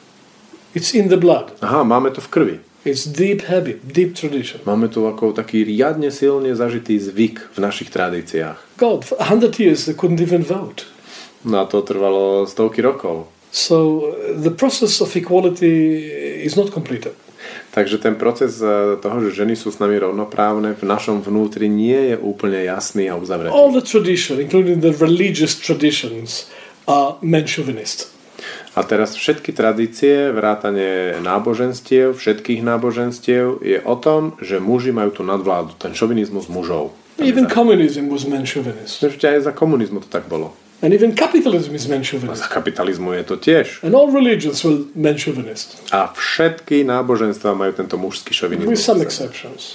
It's in the blood. Aha, máme to v krvi. It's deep habit, deep tradition. Máme tu ako taký riadne silne zažitý zvyk v našich tradíciách. God, for a hundred years they couldn't even vote. No a to trvalo stovky rokov. So the process of equality is not completed. Takže ten proces toho, že ženy sú s nami rovnoprávne, v našom vnútri nie je úplne jasný a uzavretý. All the tradition, including the religious traditions, are men chauvinist. A teraz všetky tradície, vrátane náboženstiev, všetkých náboženstiev je o tom, že muži majú tú nadvládu, ten šovinizmus mužov. Even communism was men chauvinist. Ešte aj za komunizmu to tak bolo. And even capitalism is men A chauvinist. za kapitalizmu je to tiež. And all religions were men chauvinist. A všetky náboženstva majú tento mužský šovinizmus. With some exceptions.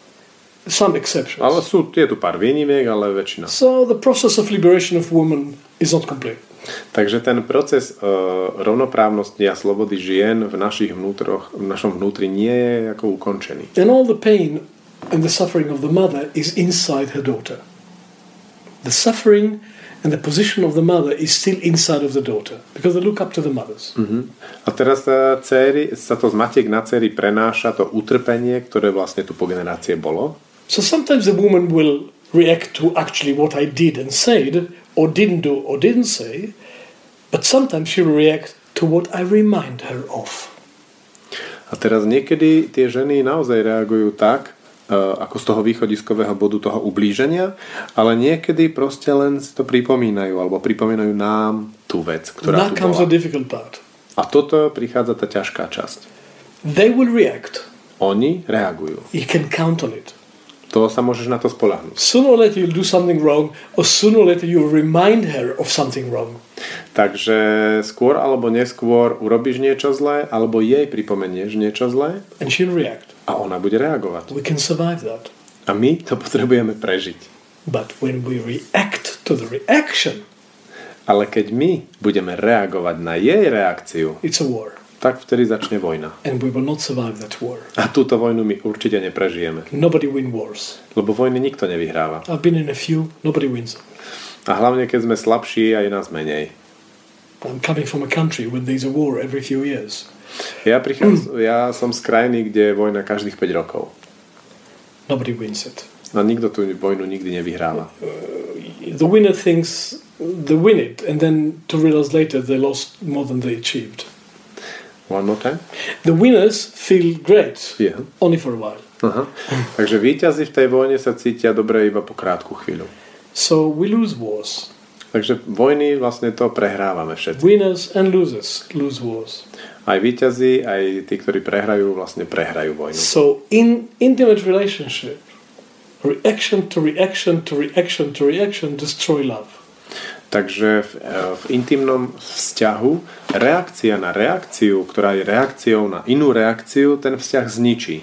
Some exceptions. Ale sú, je tu pár výnimiek, ale väčšina. So the process of liberation of women is not complete. Takže ten proces uh, rovnoprávnosti a slobody žien v našich vnútroch, v našom vnútri nie je ako ukončený. And all the pain and the suffering of the mother is inside her daughter. The suffering and the position of the mother is still inside of the daughter because they look up to the mothers. Uh-huh. A teraz sa, dcery, sa to z matiek na dcery prenáša to utrpenie, ktoré vlastne tu po generácie bolo. So sometimes the woman will react to actually what I did and said or didn't do or didn't say, but sometimes she will react to what I remind her of. A teraz niekedy tie ženy naozaj reagujú tak, uh, ako z toho východiskového bodu toho ublíženia, ale niekedy proste len si to pripomínajú, alebo pripomínajú nám tú vec, ktorá That tu comes bola. the difficult part. A toto prichádza tá ťažká časť. They will react. Oni reagujú. You can count on it. To sa môžeš na to spoľahnúť. Sooner or later you'll do something wrong, or sooner or later you'll remind her of something wrong. Takže skôr alebo neskôr urobíš niečo zlé, alebo jej pripomenieš niečo zlé And she'll react. a ona bude reagovať. We can survive that. A my to potrebujeme prežiť. But when we react to the reaction, Ale keď my budeme reagovať na jej reakciu, it's a war. tak vtedy začne vojna. And we will not survive that war. A túto vojnu my určite neprežijeme. Nobody wins wars. Lebo vojny nikto nevyhráva. I've been in a few, nobody wins. A hlavne, keď sme slabší a je nás menej. I'm coming from a country where there's a war every few years. Ja, prichádzam, ja som z krajiny, kde je vojna každých päť rokov. Nobody wins it. A nikto tú vojnu nikdy nevyhráva. The winner thinks they win it, and then to realize later they lost more than they achieved. One more time? The winners feel great, Yeah. only for a while. Aha. Takže víťazi v tej vojne sa cítia dobre iba po krátku chvíľu. So we lose wars. Takže vojny vlastne to prehrávame všetci. Winners and losers lose wars. Aj víťazi, aj tí, ktorí prehrajú, vlastne prehrajú vojnu. So in intimate relationship, reaction to reaction to reaction to reaction destroy love. Takže v, v intimnom vzťahu reakcia na reakciu, ktorá je reakciou na inú reakciu, ten vzťah zničí.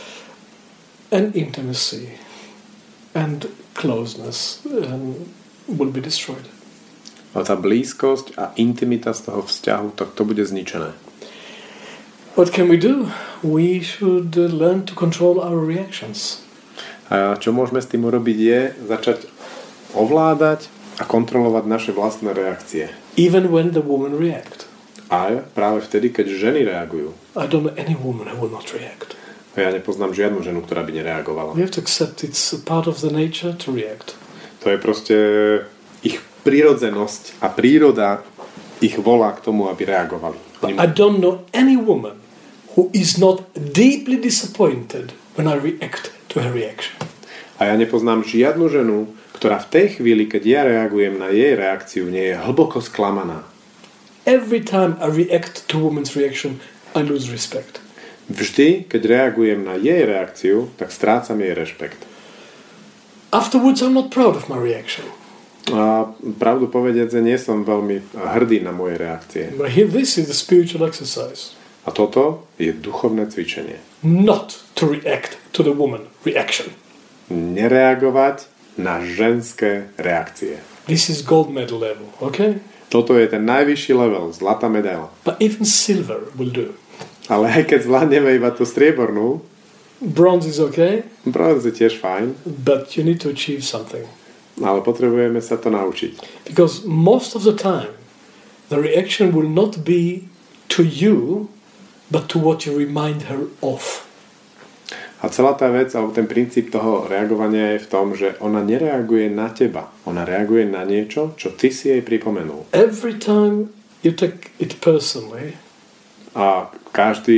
And intimacy and closeness um, will be destroyed. A tá blízkosť a intimita z toho vzťahu, tak to bude zničené. What can we do? We should uh, learn to control our reactions. A čo môžeme s tým urobiť je začať ovládať a kontrolovať naše vlastné reakcie. Even when the women react. A práve vtedy, keď ženy reagujú. I don't know any woman who will not react. A ja nepoznám žiadnu ženu, ktorá by nereagovala. We have to accept it's a part of the nature to react. To je proste ich prirodzenosť a príroda ich volá k tomu, aby reagovali. But I don't know any woman who is not deeply disappointed when I react to her reaction. A ja nepoznám žiadnu ženu, ktorá v tej chvíli, keď ja reagujem na jej reakciu, nie je hlboko sklamaná. Every time I react to a woman's reaction, I lose respect. Vždy, keď reagujem na jej reakciu, tak strácam jej rešpekt. Afterwards, I'm not proud of my reaction. A pravdu povediac, nie som veľmi hrdý na moje reakcie. But here, this is the spiritual exercise. A toto je duchovné cvičenie. Not to react to the woman reaction. Nereagovať na ženské reakcie. This is gold medal level, okay? Toto je ten najvyšší level, zlatá medaila. But even silver will do. Ale aj keď zvládneme iba tú striebornú, bronze is okay. Bronze je tiež fajn. But you need to achieve something. Ale potrebujeme sa to naučiť. Because most of the time, the reaction will not be to you, but to what you remind her of. A celá tá vec, alebo ten princíp toho reagovania je v tom, že ona nereaguje na teba. Ona reaguje na niečo, čo ty si jej pripomenul. Every time you take it personally, a každý,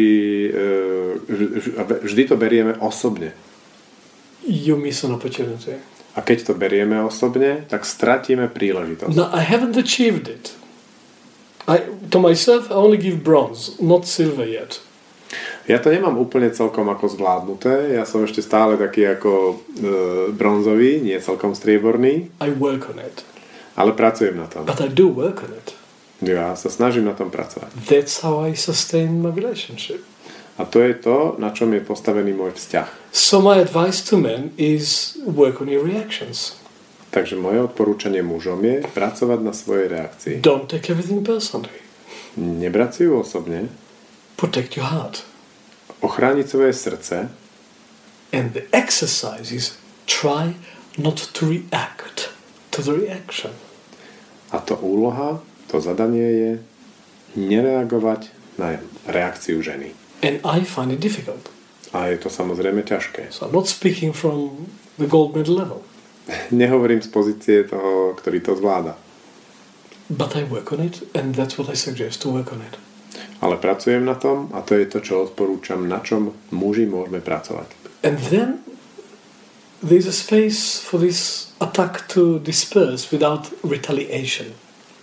vždy to berieme osobne. You miss an opportunity. A keď to berieme osobne, tak stratíme príležitosť. No, I haven't achieved it. I, to myself, I only give bronze, not silver yet. Ja to nemám úplne celkom ako zvládnuté. Ja som ešte stále taký ako e, bronzový, nie celkom strieborný. I work on it. Ale pracujem na tom. But I do work on it. Ja sa snažím na tom pracovať. That's how I sustain my relationship. A to je to, na čom je postavený môj vzťah. So my advice to men is work on your reactions. Takže moje odporúčanie mužom je pracovať na svojej reakcii. Don't take everything personally. Nebrať si ju osobne. Protect your heart. Ochrániť svoje srdce. And the exercise is try not to react to the reaction. A to úloha, to zadanie je nereagovať na reakciu ženy. And I find it difficult. A je to samozrejme ťažké. So I'm not speaking from the gold medal level. Nehovorím z pozície toho, ktorý to zvláda. But I work on it and that's what I suggest, to work on it. Ale pracujem na tom a to je to, čo odporúčam, na čom muži môžeme pracovať. And then there's a space for this attack to disperse without retaliation.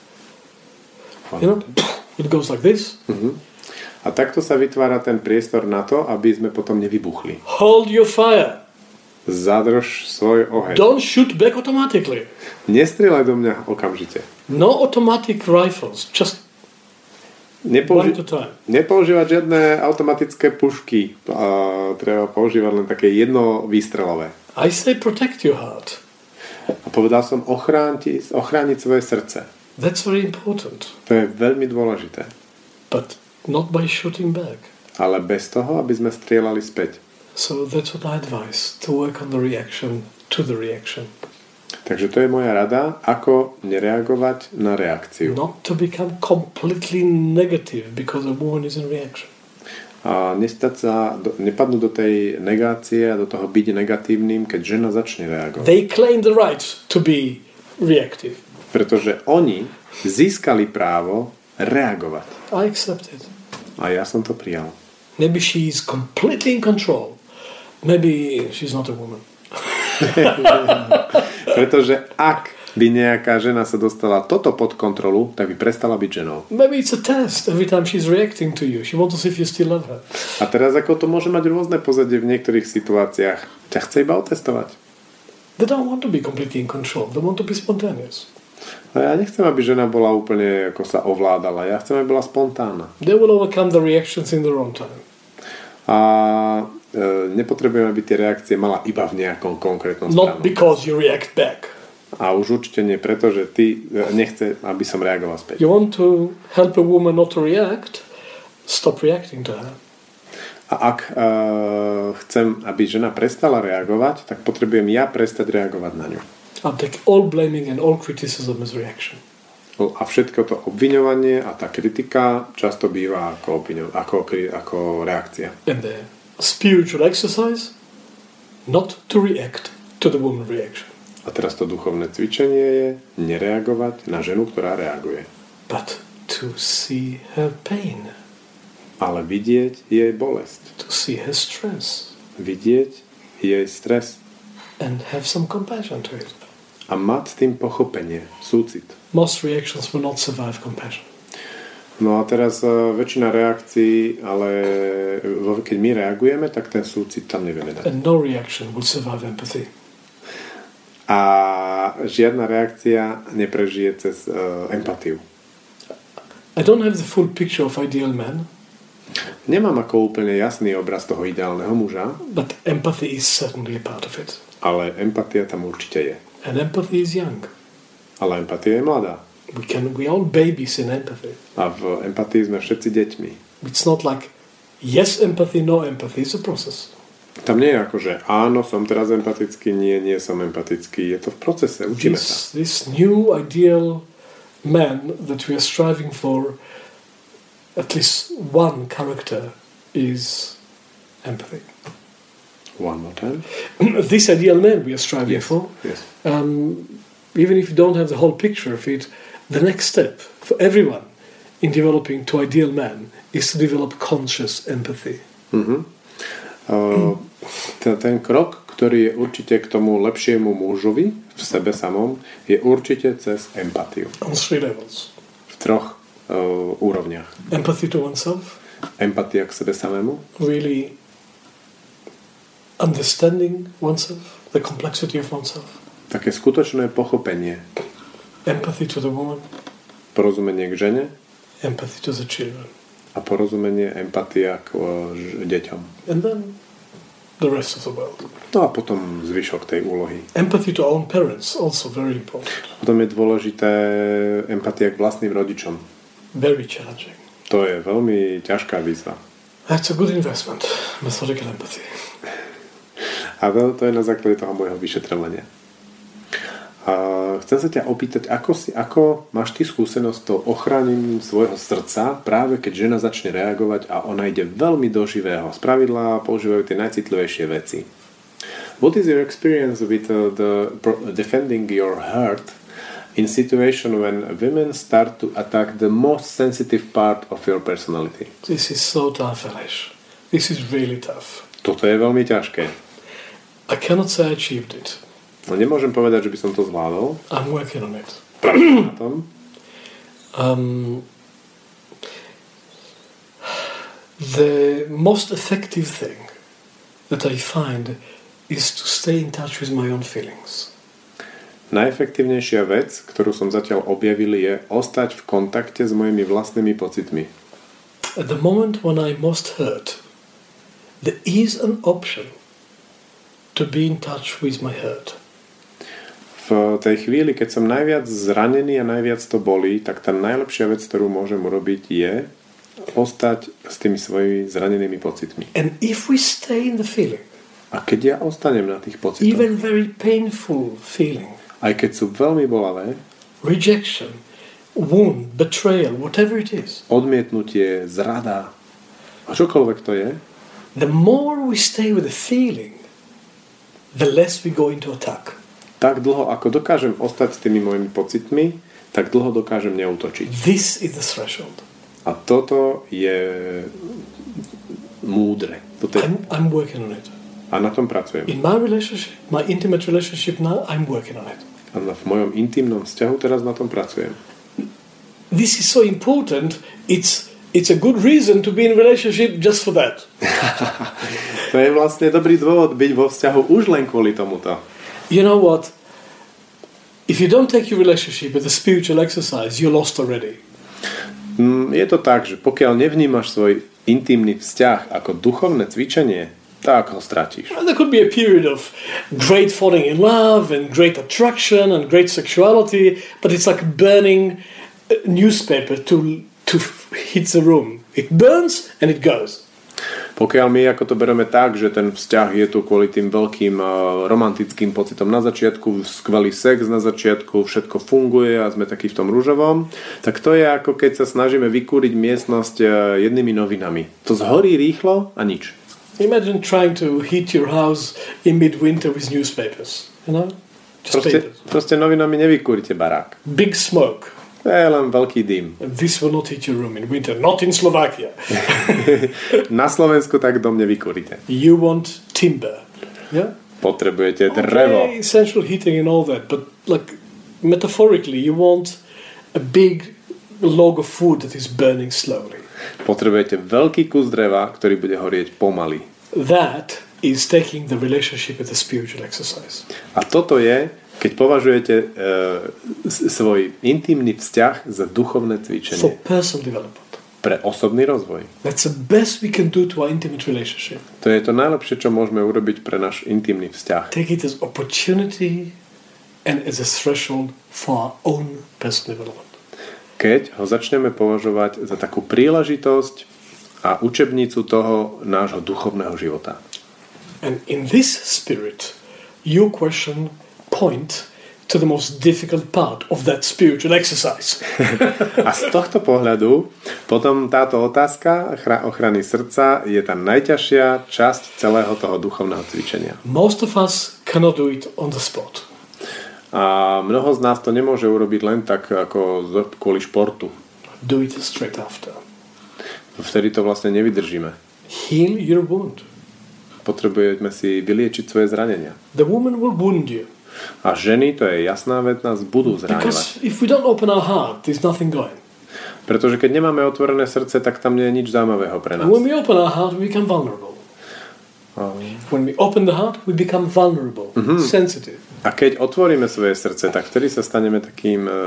You know, it goes like this. Uh-huh. A takto sa vytvára ten priestor na to, aby sme potom nevybuchli. Hold your fire. Zadrž svoj oheň. Don't shoot back automatically. Nestrieľaj do mňa okamžite. No automatic rifles, just Nepouži- one at a time. Nepoužívať žiadne automatické pušky. A treba používať len také jednovýstrelové. I say protect your heart. A povedal som ochrániť, ochrániť svoje srdce. That's very important. To je veľmi dôležité. But not by shooting back. Ale bez toho, aby sme strieľali späť. So that's what I advise, to work on the reaction to the reaction. Takže to je moja rada, ako nereagovať na reakciu. Not to become completely negative because a woman is in reaction. A nestať sa, do, nepadnúť do tej negácie a do toho byť negatívnym, keď žena začne reagovať. They claim the right to be reactive. Pretože oni získali právo reagovať. I accept it. A ja som to prijal. Maybe she's completely in control. Maybe she's not a woman. Pretože ak by nejaká žena sa dostala toto pod kontrolu, tak by prestala byť ženou. Maybe it's a test every time she's reacting to you. She wants to see if you still love her. A teraz ako to môže mať rôzne pozadie v niektorých situáciách. Ťa chce iba otestovať. They don't want to be completely in control. They want to be spontaneous. A ja nechcem, aby žena bola úplne, ako sa ovládala. Ja chcem, aby bola spontánna. They will overcome the reactions in their own time. A e, nepotrebujeme, aby tie reakcie mala iba v nejakom konkrétnom Not správnom. because you react back. A už určite nie preto, že ty nechce, aby som reagoval späť. You want to help a woman not to react, stop reacting to her. A ak uh, chcem, aby žena prestala reagovať, tak potrebujem ja prestať reagovať na ňu. I'll take all blaming and all criticism as reaction. A všetko to obviňovanie a tá kritika často býva ako, obviňo, ako, ako reakcia. And the spiritual exercise, not to react to the woman reaction. A teraz to duchovné cvičenie je nereagovať na ženu, ktorá reaguje. But to see her pain. Ale vidieť jej bolesť. To see her stress. Vidieť jej stres. And have some compassion to it. A mať s tým pochopenie, súcit. Most reactions will not survive compassion. No a teraz uh, väčšina reakcií, ale keď my reagujeme, tak ten súcit tam nevieme dať. And no reaction will survive empathy. A žiadna reakcia neprežije cez uh, empatiu. I don't have the full picture of ideal man. Nemám ako úplne jasný obraz toho ideálneho muža. But empathy is certainly a part of it. Ale empatia tam určite je. And empathy is young. Ale empatia je mladá. We can we all babies in empathy. A v empatii sme všetci deťmi. It's not like yes empathy, no empathy. It's a process. Tam nie je ako, že áno, som teraz empatický, nie, nie som empatický. Je to v procese, učíme this, sa. This new ideal man that we are striving for, at least one character is empathy. One more time. This ideal man we are striving Yes, for, yes. Um, even if you don't have the whole picture of it, the next step for everyone in developing to ideal man is to develop conscious empathy. Uh-huh. Uh, ten, ten krok, ktorý je určite k tomu lepšiemu mužovi v sebe samom, je určite cez empatiu. On three levels. V troch uh, úrovniach. Empathy to oneself. Empatia k sebe samému. Really understanding oneself, the complexity of oneself. Také skutočné pochopenie. Empathy to the woman. Porozumenie k žene. Empathy to the children. A porozumenie, empatia k uh, ž- deťom. And then the rest of the world. No a potom zvyšok tej úlohy. Empathy to our own parents, also very important. Potom je dôležité empatia k vlastným rodičom. Very challenging. To je veľmi ťažká výzva. That's a good investment, methodical empathy. A to je na základe toho môjho vyšetrovania. A chcem sa ťa opýtať, ako, si, ako máš ty skúsenosť s tou ochránením svojho srdca, práve keď žena začne reagovať a ona ide veľmi do živého. Spravidla používajú tie najcitlivejšie veci. What is your experience with uh, the defending your heart in situation when women start to attack the most sensitive part of your personality? This is so tough, Alesh. This is really tough. Toto je veľmi ťažké. I cannot say I achieved it. No nemôžem povedať, že by som to zvládol. I'm working on it. Pracujem na tom. Um, the most effective thing that I find is to stay in touch with my own feelings. Najefektívnejšia vec, ktorú som zatiaľ objavil, je ostať v kontakte s mojimi vlastnými pocitmi. At the moment when I'm most hurt, there is an option to be in touch with my hurt. V tej chvíli, keď som najviac zranený a najviac to bolí, tak tá najlepšia vec, ktorú môžem urobiť, je ostať s tými svojimi zranenými pocitmi. And if we stay in the feeling, a keď ja ostanem na tých pocitoch, even very painful feeling, aj keď sú veľmi bolavé, rejection, wound, betrayal, whatever it is, odmietnutie, zrada, a čokoľvek to je, the more we stay with the feeling, the less we go into attack. Tak dlho, ako dokážem ostať s tými mojimi pocitmi, tak dlho dokážem neútočiť. This is the threshold. A toto je múdre. Toto je... I'm, I'm working on it. A na tom pracujem. In my relationship, my intimate relationship now, I'm working on it. A v mojom intimnom vzťahu teraz na tom pracujem. This is so important. It's it's a good reason to be in a relationship just for that. To je vlastne dobrý dôvod byť vo vzťahu už len kvôli tomuto. You know what? If you don't take your relationship as a spiritual exercise, you're lost already. Je to tak, že pokiaľ nevnímaš svoj intimný vzťah ako duchovné cvičenie, tak ho stratíš. And there could be a period of great falling in love and great attraction and great sexuality, but it's like burning a newspaper to to hit the room. It burns and it goes. Pokiaľ my ako to bereme tak, že ten vzťah je tu kvôli tým veľkým uh, romantickým pocitom na začiatku, skvelý sex na začiatku, všetko funguje a sme takí v tom ružovom, tak to je ako keď sa snažíme vykúriť miestnosť uh, jednými novinami. To zhorí rýchlo a nič. Imagine trying to heat your house in midwinter with newspapers, you know? Just Proste, paint it. proste novinami nevykúrite barák. Big smoke. To je len veľký dym. And this will not hit your room in winter. Not in Slovakia. Na Slovensku tak dom nevykúrite. You want timber. Yeah? Potrebujete drevo. Okay, central heating and all that. But like metaphorically, you want a big log of wood that is burning slowly. Potrebujete veľký kus dreva, ktorý bude horieť pomaly. That is taking the relationship as a spiritual exercise. A toto je, keď považujete e, svoj intimný vzťah za duchovné For cvičenie personal development. pre osobný rozvoj. That's the best we can do to our intimate relationship. To je to najlepšie, čo môžeme urobiť pre náš intimný vzťah. Take it as opportunity and as a threshold for our own personal development. Keď ho začneme považovať za takú príležitosť a učebnicu toho nášho duchovného života. And in this spirit, your question point to the most difficult part of that spiritual exercise. A z tohto pohľadu potom táto otázka ochrany srdca je tá najťažšia časť celého toho duchovného cvičenia. Most of us cannot do it on the spot. A mnoho z nás to nemôže urobiť len tak ako kvôli športu. Do it straight after. Vtedy to vlastne nevydržíme. Heal your wound. Potrebujeme si vyliečiť svoje zranenia. The woman will wound you. A ženy, to je jasná vec, nás budú zraňovať. Because if we don't open our heart, there's nothing going. Pretože keď nemáme otvorené srdce, tak tam nie je nič zaujímavého pre nás. When we open our heart, we become vulnerable. Um. When we open the heart, we become vulnerable, mm-hmm. sensitive. A keď otvoríme svoje srdce, tak vtedy sa staneme takým uh,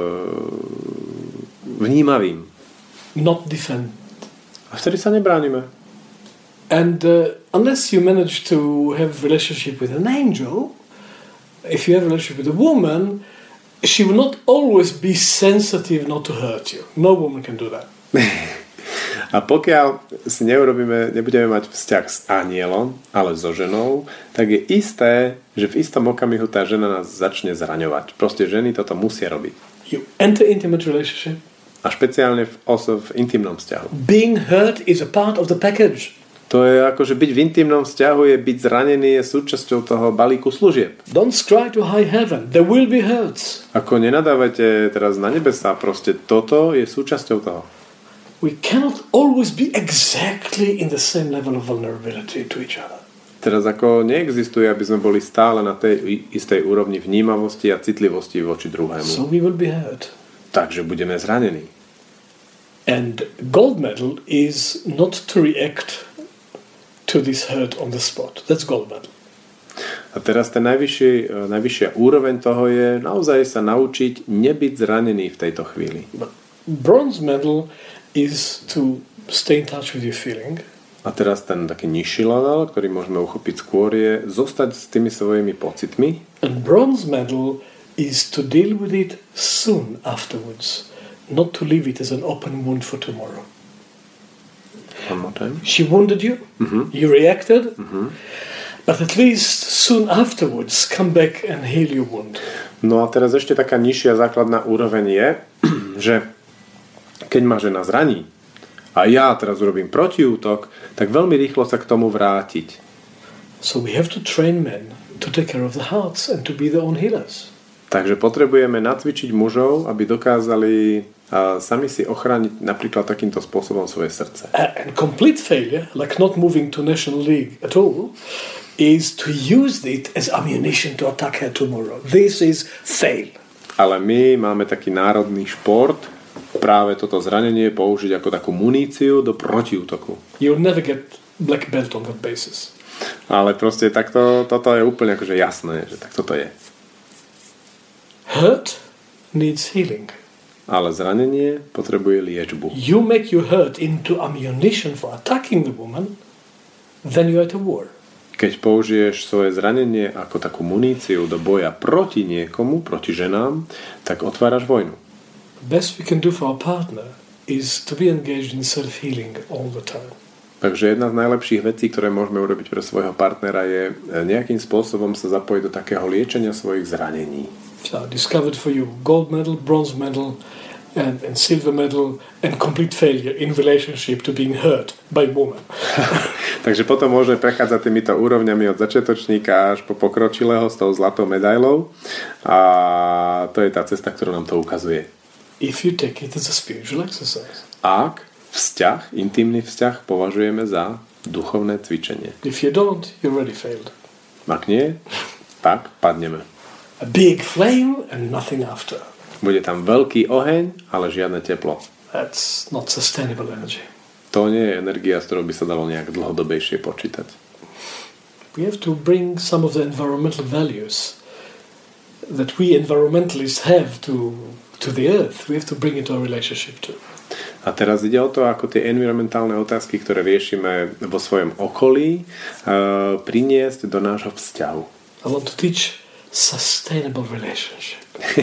vnímavým. Not defend. A vtedy sa nebránime. And uh, unless you manage to have a relationship with an angel, if you have a relationship with a woman, she will not always be sensitive not to hurt you. No woman can do that. A pokiaľ si neurobíme, nebudeme mať vzťah s anielom, ale so ženou, tak je isté, že v istom okamihu tá žena nás začne zraňovať. Proste ženy toto musia robiť. You enter intimate relationship. A špeciálne v, oso, v intimnom vzťahu. Being hurt is a part of the package. To je ako, že byť v intimnom vzťahu je byť zranený, je súčasťou toho balíku služieb. Don't cry to high heaven. There will be hurts. Ako nenadávate teraz na nebesá, proste toto je súčasťou toho. We cannot always be exactly in the same level of vulnerability to each other. Teraz ako neexistuje, aby sme boli stále na tej istej úrovni vnímavosti a citlivosti voči druhému. So we will be hurt. Takže budeme zranení. And gold medal is not to react to this hurt on the spot. That's gold medal. A teraz ten najvyšší, najvyššia úroveň toho je naozaj sa naučiť nebyť zranený v tejto chvíli. But bronze medal is to stay in touch with your feeling. A teraz ten taký nižší level, ktorý môžeme uchopiť skôr, je zostať s tými svojimi pocitmi. And bronze medal is to deal with it soon afterwards, not to leave it as an open wound for tomorrow. One more time. She wounded you, mm-hmm. you reacted, mm-hmm. but at least soon afterwards come back and heal your wound. No a teraz ešte taká nižšia základná úroveň je, že keď ma žena zraní a ja teraz urobím protiútok, tak veľmi rýchlo sa k tomu vrátiť. So we have to train men to take care of the hearts and to be their own healers. Takže potrebujeme nacvičiť mužov, aby dokázali a sami si ochrániť napríklad takýmto spôsobom svoje srdce. And complete failure, like not moving to National League at all, is to use it as ammunition to attack her tomorrow. This is fail. Ale my máme taký národný šport, práve toto zranenie použiť ako takú muníciu do protiútoku. You'll never get black belt on that basis. Ale proste takto, toto je úplne akože jasné, že tak toto je. Hurt needs healing. Ale zranenie potrebuje liečbu. You make your hurt into ammunition for attacking the woman, then you're at a war. Keď použiješ svoje zranenie ako takú muníciu do boja proti niekomu, proti ženám, tak otváraš vojnu. The best we can do for our partner is to be engaged in self-healing all the time. Takže jedna z najlepších vecí, ktoré môžeme urobiť pre svojho partnera, je nejakým spôsobom sa zapojiť do takého liečenia svojich zranení. So I discovered for you gold medal, bronze medal, and, and silver medal and complete failure in relationship to being hurt by woman. Takže potom môže prechádzať týmito úrovňami od začiatočníka až po pokročilého s tou zlatou medailou a to je tá cesta, ktorú nám to ukazuje. If you take it as a spiritual exercise. Ak vzťah, intimný vzťah považujeme za duchovné cvičenie. If you don't, you already failed. Ak nie, tak padneme. A big flame and nothing after. Bude tam veľký oheň, ale žiadne teplo. That's not sustainable energy. To nie je energia, s ktorou by sa dalo nejak dlhodobejšie počítať. We have to bring some of the environmental values that we environmentalists have to, to the earth. We have to bring it to our relationship too. A teraz ide o to, ako tie environmentálne otázky, ktoré riešime vo svojom okolí, uh, priniesť do nášho vzťahu. I want to teach sustainable relationship.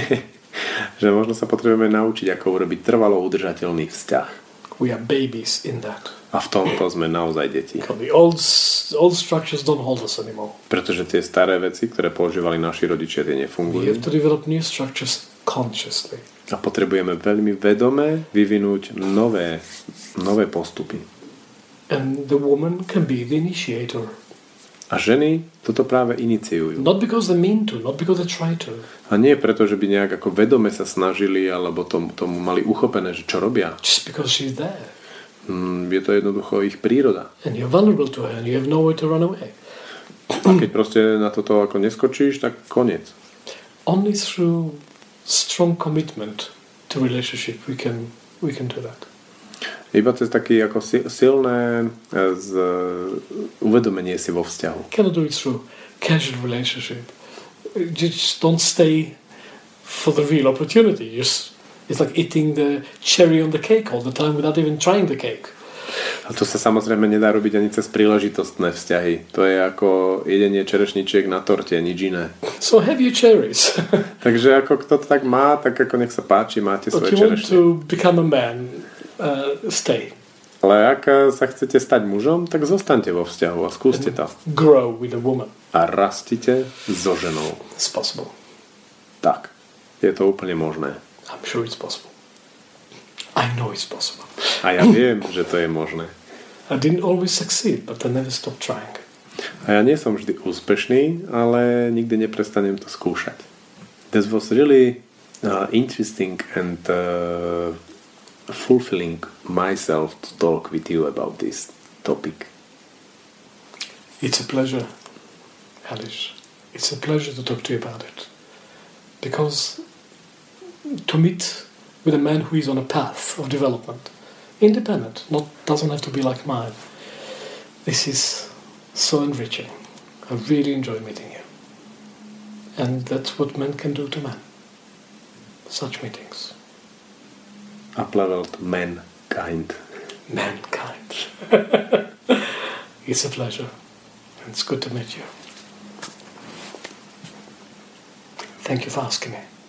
Že možno sa potrebujeme naučiť, ako urobiť trvalo udržateľný vzťah. We are babies in that. A v tomto sme naozaj deti. The old, old structures don't hold us anymore. Pretože tie staré veci, ktoré používali naši rodičia, tie nefungujú. We have to develop new structures consciously. A potrebujeme veľmi vedome vyvinúť nové, nové postupy. And the woman can be the initiator. A ženy toto práve iniciujú. Not because they mean to, not because they try to. A nie preto, že by nejak ako vedome sa snažili, alebo tomu, tomu mali uchopené, že čo robia. Just because she's there. Mm, je to jednoducho ich príroda. And you're vulnerable to her and you have nowhere to run away. A keď proste na toto ako neskočíš, tak koniec. Only through strong commitment to relationship we can, we can do that. Iba cez taký ako silné z, uvedomenie si vo vzťahu. Cannot do it through casual relationship. Just don't stay for the real opportunity. Just, it's like eating the cherry on the cake all the time without even trying the cake. A to sa samozrejme nedá robiť ani cez príležitostné vzťahy. To je ako jedenie čerešničiek na torte, nič iné. So have your cherries. Takže ako kto to tak má, tak ako nech sa páči, máte svoje čerešne. If you want to become a man, uh, stay. Ale ak sa chcete stať mužom, tak zostaňte vo vzťahu a skúste to. Grow with a woman. A rastite so ženou. It's possible. Tak, je to úplne možné. I'm sure it's possible. I know it's possible. A ja viem, že to je možné. I didn't always succeed, but I never stopped trying. A ja nie som vždy úspešný, ale nikdy neprestanem to skúšať. This was really uh, interesting and uh, fulfilling myself to talk with you about this topic. It's a pleasure, Alice. It's a pleasure to talk to you about it. Because to meet with a man who is on a path of development, independent, not doesn't have to be like mine, this is so enriching. I really enjoy meeting you. And that's what men can do to men. Such meetings. Up level to mankind. Mankind. It's a pleasure. It's good to meet you. Thank you for asking me.